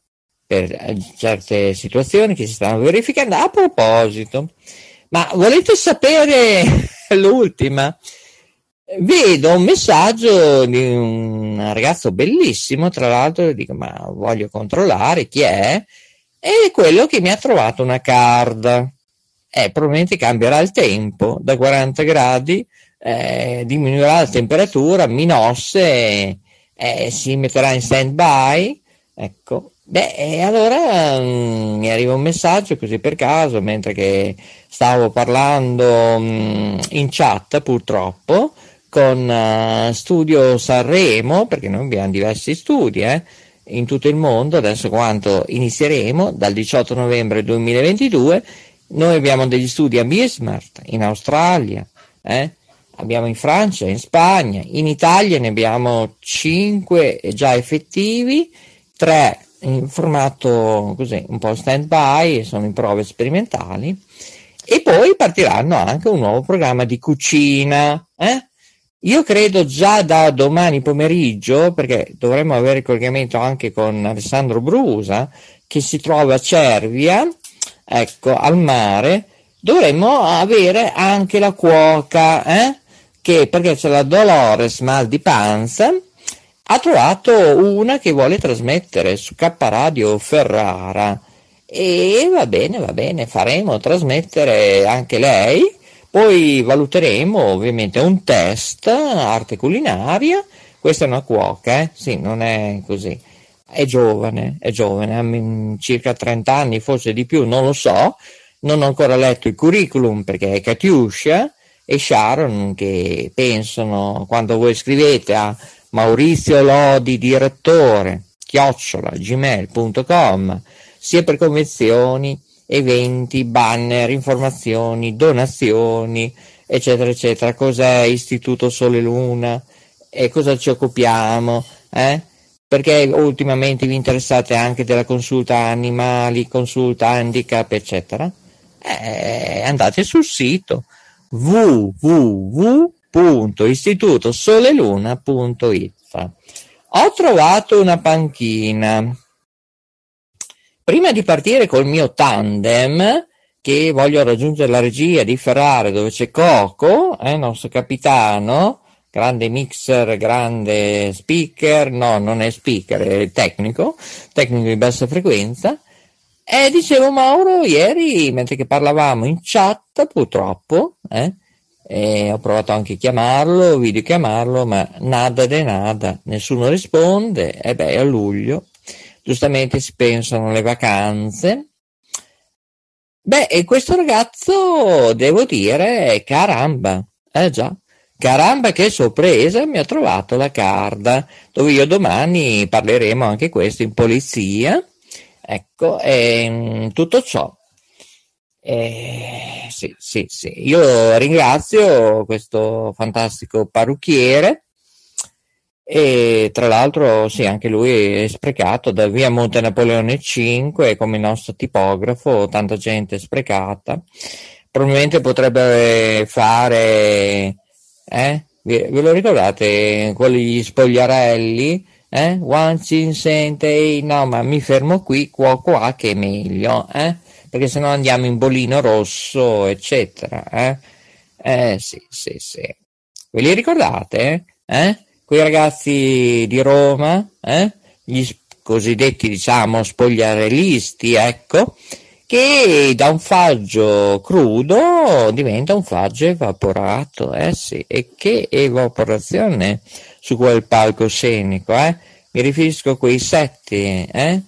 per certe situazioni che si stanno verificando. A proposito, ma volete sapere l'ultima? Vedo un messaggio di un ragazzo bellissimo, tra l'altro, dico, ma voglio controllare chi è quello che mi ha trovato una card. Probabilmente cambierà il tempo, da 40 gradi diminuirà la temperatura, minosse, si metterà in stand by, ecco. Allora mi arriva un messaggio così per caso, mentre che stavo parlando in chat, purtroppo, con Studio Sanremo, perché noi abbiamo diversi studi in tutto il mondo. Adesso, quando inizieremo, dal 18 novembre 2022, noi abbiamo degli studi a Bismarck, in Australia, abbiamo in Francia, in Spagna, in Italia ne abbiamo 5 già effettivi, 3 in formato così un po' stand by, sono in prove sperimentali, e poi partiranno anche un nuovo programma di cucina. Io credo già da domani pomeriggio, perché dovremmo avere collegamento anche con Alessandro Brusa, che si trova a Cervia, ecco, al mare. Dovremmo avere anche la cuoca, che, perché c'è la Dolores Mal di Panza, ha trovato una che vuole trasmettere su K Radio Ferrara, e va bene, faremo trasmettere anche lei. Poi valuteremo ovviamente un test, arte culinaria. Questa è una cuoca, sì, non è così, è giovane, ha circa 30 anni, forse di più, non lo so, non ho ancora letto il curriculum, perché è Katiuscia e Sharon che pensano, quando voi scrivete a Maurizio Lodi direttore @gmail.com, sia per convenzioni, eventi, banner, informazioni, donazioni, eccetera eccetera, cos'è Istituto Sole Luna e cosa ci occupiamo, perché ultimamente vi interessate anche della consulta animali, consulta handicap, eccetera, andate sul sito www.istitutosoleluna.it. Ho trovato una panchina. Prima di partire col mio tandem, che voglio raggiungere la regia di Ferrara, dove c'è Coco, il nostro capitano, grande mixer, grande speaker, no, non è speaker, è tecnico di bassa frequenza. E dicevo, Mauro, ieri, mentre che parlavamo in chat, purtroppo, ho provato anche a chiamarlo, videochiamarlo, ma nada de nada, nessuno risponde. A luglio, giustamente si pensano alle vacanze. E questo ragazzo, devo dire, caramba, caramba che sorpresa, mi ha trovato la card, dove io domani parleremo anche questo in polizia, ecco, tutto ciò. Sì, io ringrazio questo fantastico parrucchiere, e tra l'altro sì, anche lui è sprecato da via Monte Napoleone 5, come il nostro tipografo, tanta gente sprecata. Probabilmente potrebbe fare, ve lo ricordate, quelli spogliarelli, one sente, no, ma mi fermo qui, qua che è meglio, perché sennò andiamo in bolino rosso, eccetera, sì, ve li ricordate, quei ragazzi di Roma, gli cosiddetti, diciamo, spogliarellisti, ecco, che da un faggio crudo diventa un faggio evaporato, sì, e che evaporazione su quel palcoscenico, mi riferisco a quei setti,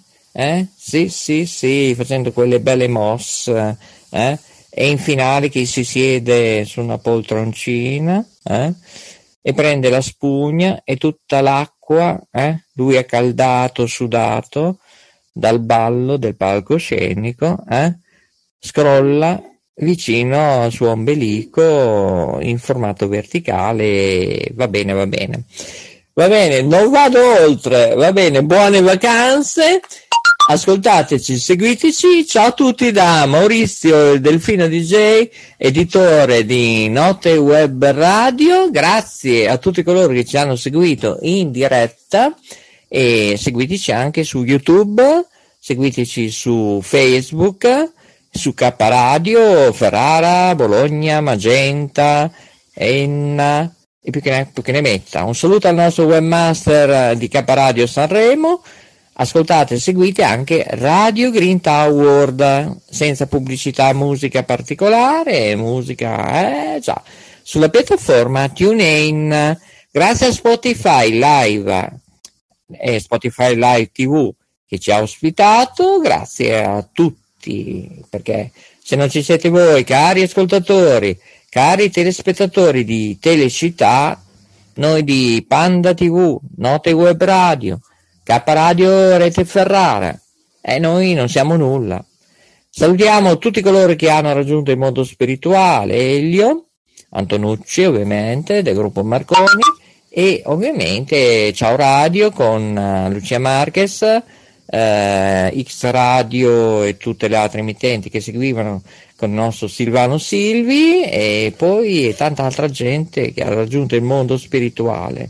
sì, facendo quelle belle mosse, e in finale che si siede su una poltroncina, e prende la spugna e tutta l'acqua, lui è caldato, sudato dal ballo del palcoscenico, scrolla vicino al suo ombelico in formato verticale. Va bene, non vado oltre, va bene, buone vacanze. Ascoltateci, seguiteci. Ciao a tutti da Maurizio, il Delfino DJ, editore di Note Web Radio. Grazie a tutti coloro che ci hanno seguito in diretta, e seguiteci anche su YouTube. seguiteci su Facebook, su K Radio, Ferrara, Bologna, Magenta, Enna e più che ne metta. Un saluto al nostro webmaster di K Radio Sanremo. Ascoltate e seguite anche Radio Green Tower, senza pubblicità, musica particolare, musica già, sulla piattaforma TuneIn. Grazie a Spotify Live e Spotify Live TV che ci ha ospitato, grazie a tutti, perché se non ci siete voi, cari ascoltatori, cari telespettatori di Telecittà, noi di Panda TV, Note Web Radio, K Radio Rete Ferrara, e noi non siamo nulla. Salutiamo tutti coloro che hanno raggiunto il mondo spirituale, Elio, Antonucci ovviamente, del gruppo Marconi, e ovviamente Ciao Radio con Lucia Marquez, X Radio e tutte le altre emittenti che seguivano con il nostro Silvano Silvi, e poi tanta altra gente che ha raggiunto il mondo spirituale.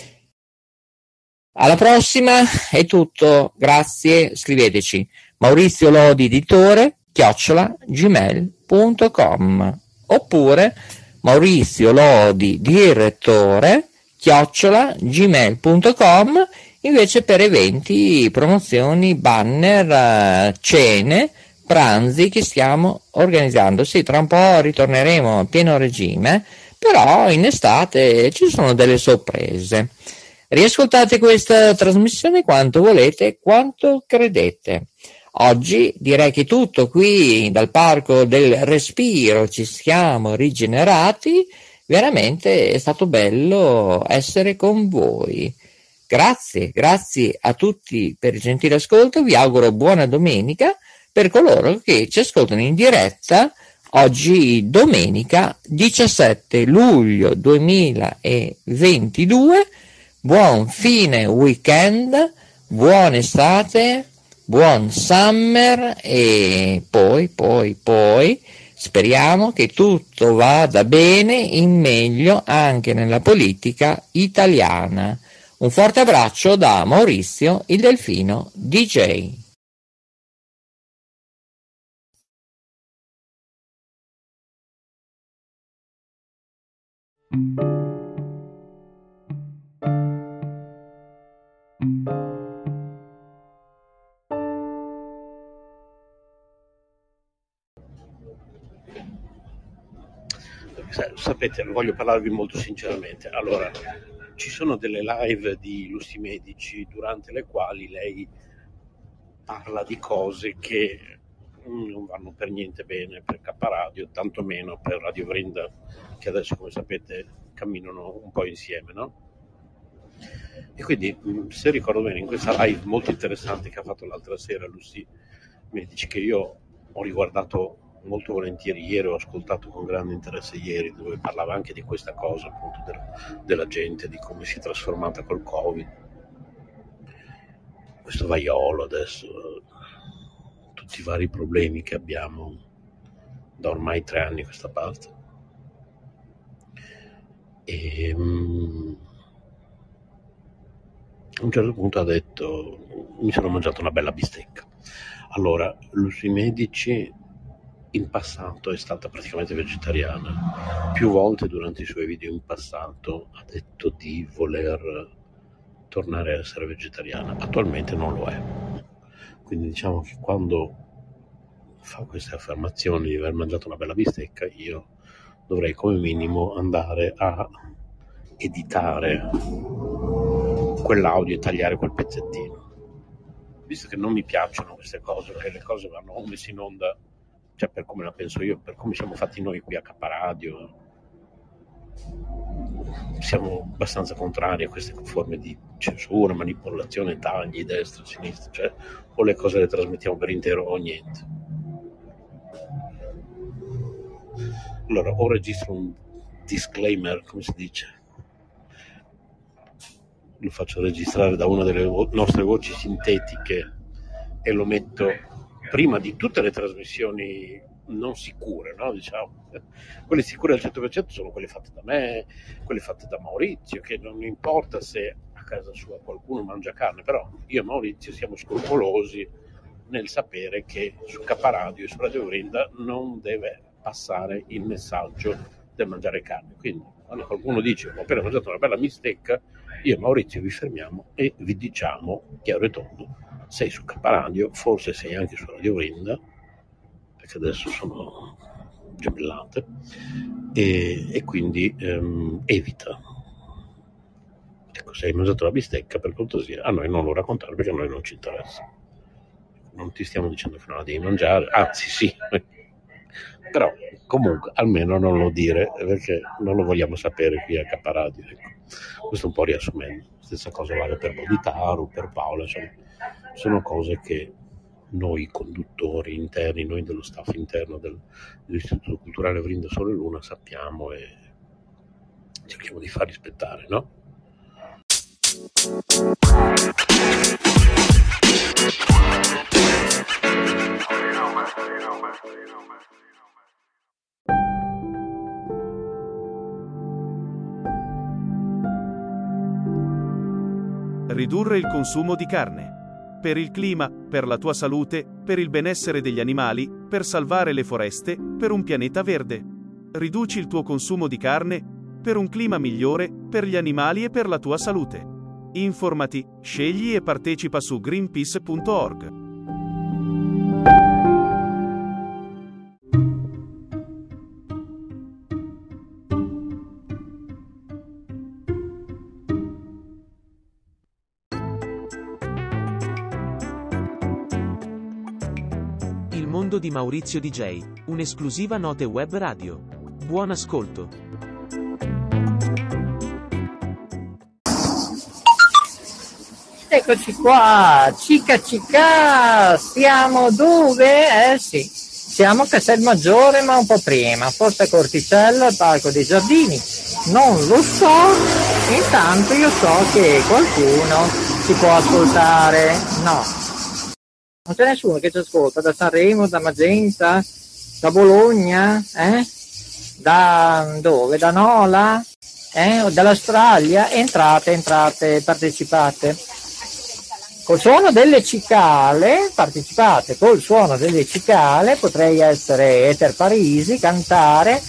Alla prossima, è tutto, grazie, scriveteci Maurizio Lodi editore @gmail.com oppure Maurizio Lodi direttore @gmail.com invece per eventi, promozioni, banner, cene, pranzi che stiamo organizzando. Sì, tra un po' ritorneremo a pieno regime, però in estate ci sono delle sorprese. Riascoltate questa trasmissione quanto volete, quanto credete. Oggi direi che tutto qui dal Parco del Respiro ci siamo rigenerati, veramente è stato bello essere con voi. Grazie a tutti per il gentile ascolto, vi auguro buona domenica per coloro che ci ascoltano in diretta oggi domenica 17 luglio 2022. Buon fine weekend, buona estate, buon summer e poi speriamo che tutto vada bene in meglio anche nella politica italiana. Un forte abbraccio da Maurizio il Delfino DJ. Sapete, voglio parlarvi molto sinceramente. Allora, ci sono delle live di illustri medici durante le quali lei parla di cose che non vanno per niente bene per K Radio, tantomeno per Radio Vrinda, che adesso, come sapete, camminano un po' insieme, no? E quindi, se ricordo bene, in questa live molto interessante che ha fatto l'altra sera Illustri Medici, che io ho riguardato molto volentieri ieri, ho ascoltato con grande interesse ieri, dove parlava anche di questa cosa, appunto, della gente, di come si è trasformata col Covid, questo vaiolo adesso, tutti i vari problemi che abbiamo da ormai 3 anni a questa parte. E a un certo punto ha detto: mi sono mangiato una bella bistecca. Allora, Illustri Medici in passato è stata praticamente vegetariana. Più volte durante i suoi video in passato ha detto di voler tornare a essere vegetariana. Attualmente non lo è. Quindi diciamo che quando fa queste affermazioni di aver mangiato una bella bistecca, io dovrei come minimo andare a editare quell'audio e tagliare quel pezzettino. Visto che non mi piacciono queste cose, perché le cose vanno messe in onda, cioè per come la penso io, per come siamo fatti noi qui a K Radio, siamo abbastanza contrari a queste forme di censura, manipolazione, tagli, destra, sinistra, cioè o le cose le trasmettiamo per intero o niente. Allora, o registro un disclaimer, come si dice, lo faccio registrare da una delle nostre voci sintetiche e lo metto prima di tutte le trasmissioni non sicure, no? Diciamo, quelle sicure al 100% sono quelle fatte da me, quelle fatte da Maurizio, che non importa se a casa sua qualcuno mangia carne, però io e Maurizio siamo scrupolosi nel sapere che su K Radio e su Radio Vrinda non deve passare il messaggio del mangiare carne. Quindi quando qualcuno dice ho appena mangiato una bella bistecca, io e Maurizio vi fermiamo e vi diciamo chiaro e tondo: sei su K Radio, forse sei anche su Radio Vrinda, perché adesso sono gemellate, e quindi evita. Ecco, se hai mangiato la bistecca, per cortesia, a noi non lo raccontare, perché a noi non ci interessa. Non ti stiamo dicendo che non la devi mangiare, anzi sì, però comunque almeno non lo dire, perché non lo vogliamo sapere qui a K Radio. Ecco. Questo un po' riassumendo. Stessa cosa vale per Bodhitaru, per Paola, insomma, sono cose che noi conduttori interni, noi dello staff interno dell'Istituto Culturale Vrinda Sole Luna sappiamo e cerchiamo di far rispettare, no? Ridurre il consumo di carne. Per il clima, per la tua salute, per il benessere degli animali, per salvare le foreste, per un pianeta verde. Riduci il tuo consumo di carne, per un clima migliore, per gli animali e per la tua salute. Informati, scegli e partecipa su greenpeace.org. Il mondo di Maurizio DJ, un'esclusiva Note Web Radio. Buon ascolto. Eccoci qua, cica, siamo dove? Sì, siamo a Castelmaggiore, ma un po' prima, forse a Corticello, al Parco dei Giardini, non lo so. Intanto io so che qualcuno si può ascoltare, no, non c'è nessuno che ci ascolta, da Sanremo, da Magenta, da Bologna, da dove? Da Nola, o dall'Australia? Entrate, partecipate. Col suono delle cicale, partecipate col suono delle cicale, potrei essere Eter Parisi, cantare.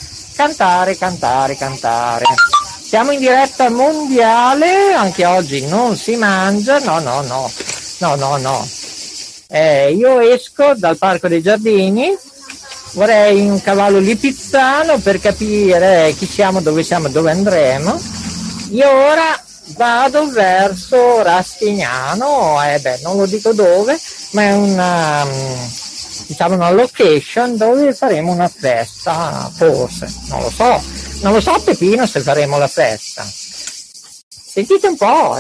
Siamo in diretta mondiale, anche oggi non si mangia, no. Io esco dal Parco dei Giardini, vorrei un cavallo lipizzano per capire chi siamo, dove andremo. Io ora vado verso Rastignano, non lo dico dove, ma è una location dove faremo una festa, forse, non lo so Pepino se faremo la festa. Sentite un po',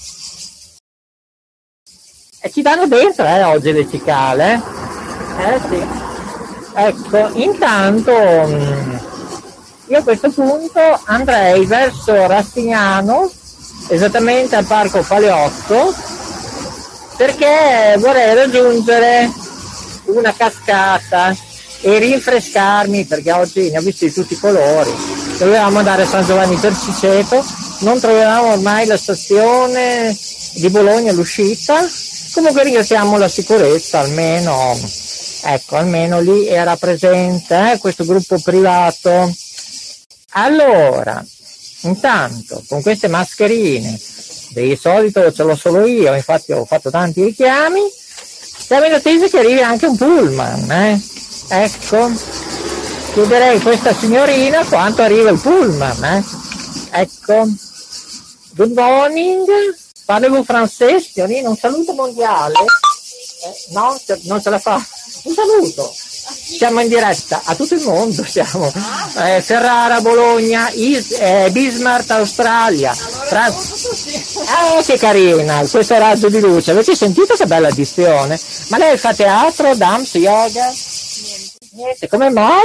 E ci danno dentro, oggi le cicale, sì. Ecco, intanto io a questo punto andrei verso Rastignano, esattamente al Parco Paleotto, perché vorrei raggiungere una cascata e rinfrescarmi, perché oggi ne ho visti di tutti i colori. Dovevamo andare a San Giovanni Perciceto, non trovavamo ormai la stazione di Bologna, l'uscita. Comunque ringraziamo la sicurezza, almeno lì era presente questo gruppo privato. Allora, intanto con queste mascherine, di solito ce l'ho solo io, infatti ho fatto tanti richiami, siamo in attesa che arrivi anche un pullman, Ecco, chiederei a questa signorina quanto arriva il pullman, Ecco, good morning, parlez-vous français, signorina, un saluto mondiale, no, non ce la fa, un saluto. Siamo in diretta a tutto il mondo, siamo Ferrara, Bologna, Bismarck, Australia. Che carina, questo raggio di luce, avete sentito che bella addizione? Ma lei fa teatro, dance, yoga? Niente, come mai?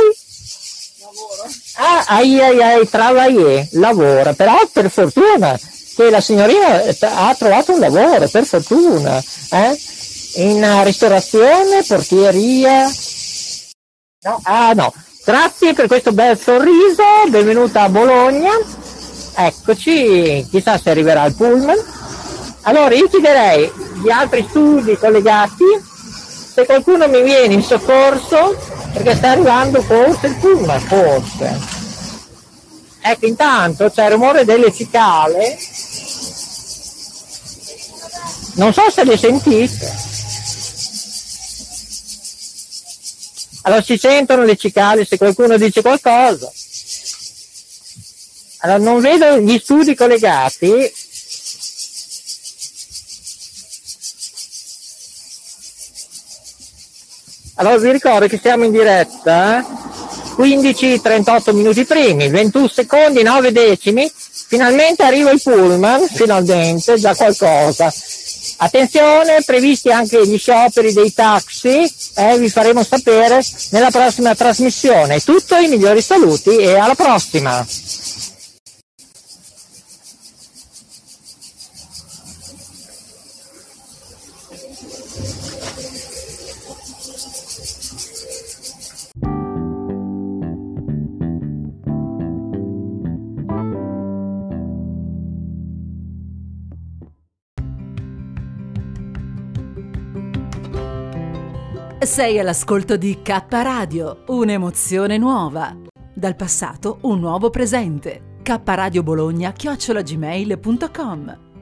Lavoro. Travailler, lavora, però per fortuna che la signorina ha trovato un lavoro, per fortuna, in ristorazione, portieria. No, grazie per questo bel sorriso, benvenuta a Bologna, eccoci, chissà se arriverà il pullman. Allora io chiederei gli altri studi collegati se qualcuno mi viene in soccorso, perché sta arrivando forse il pullman, forse. Ecco, intanto c'è il rumore delle cicale, non so se le sentite. Allora si sentono le cicale se qualcuno dice qualcosa. Allora non vedo gli studi collegati. Allora vi ricordo che siamo in diretta, 15:38 minuti primi, 21 secondi, 9 decimi, finalmente arriva il pullman, finalmente, già qualcosa. Attenzione, previsti anche gli scioperi dei taxi, vi faremo sapere nella prossima trasmissione. Tutto, i migliori saluti e alla prossima! Sei all'ascolto di K Radio, un'emozione nuova. Dal passato un nuovo presente. kradiobologna@gmail.com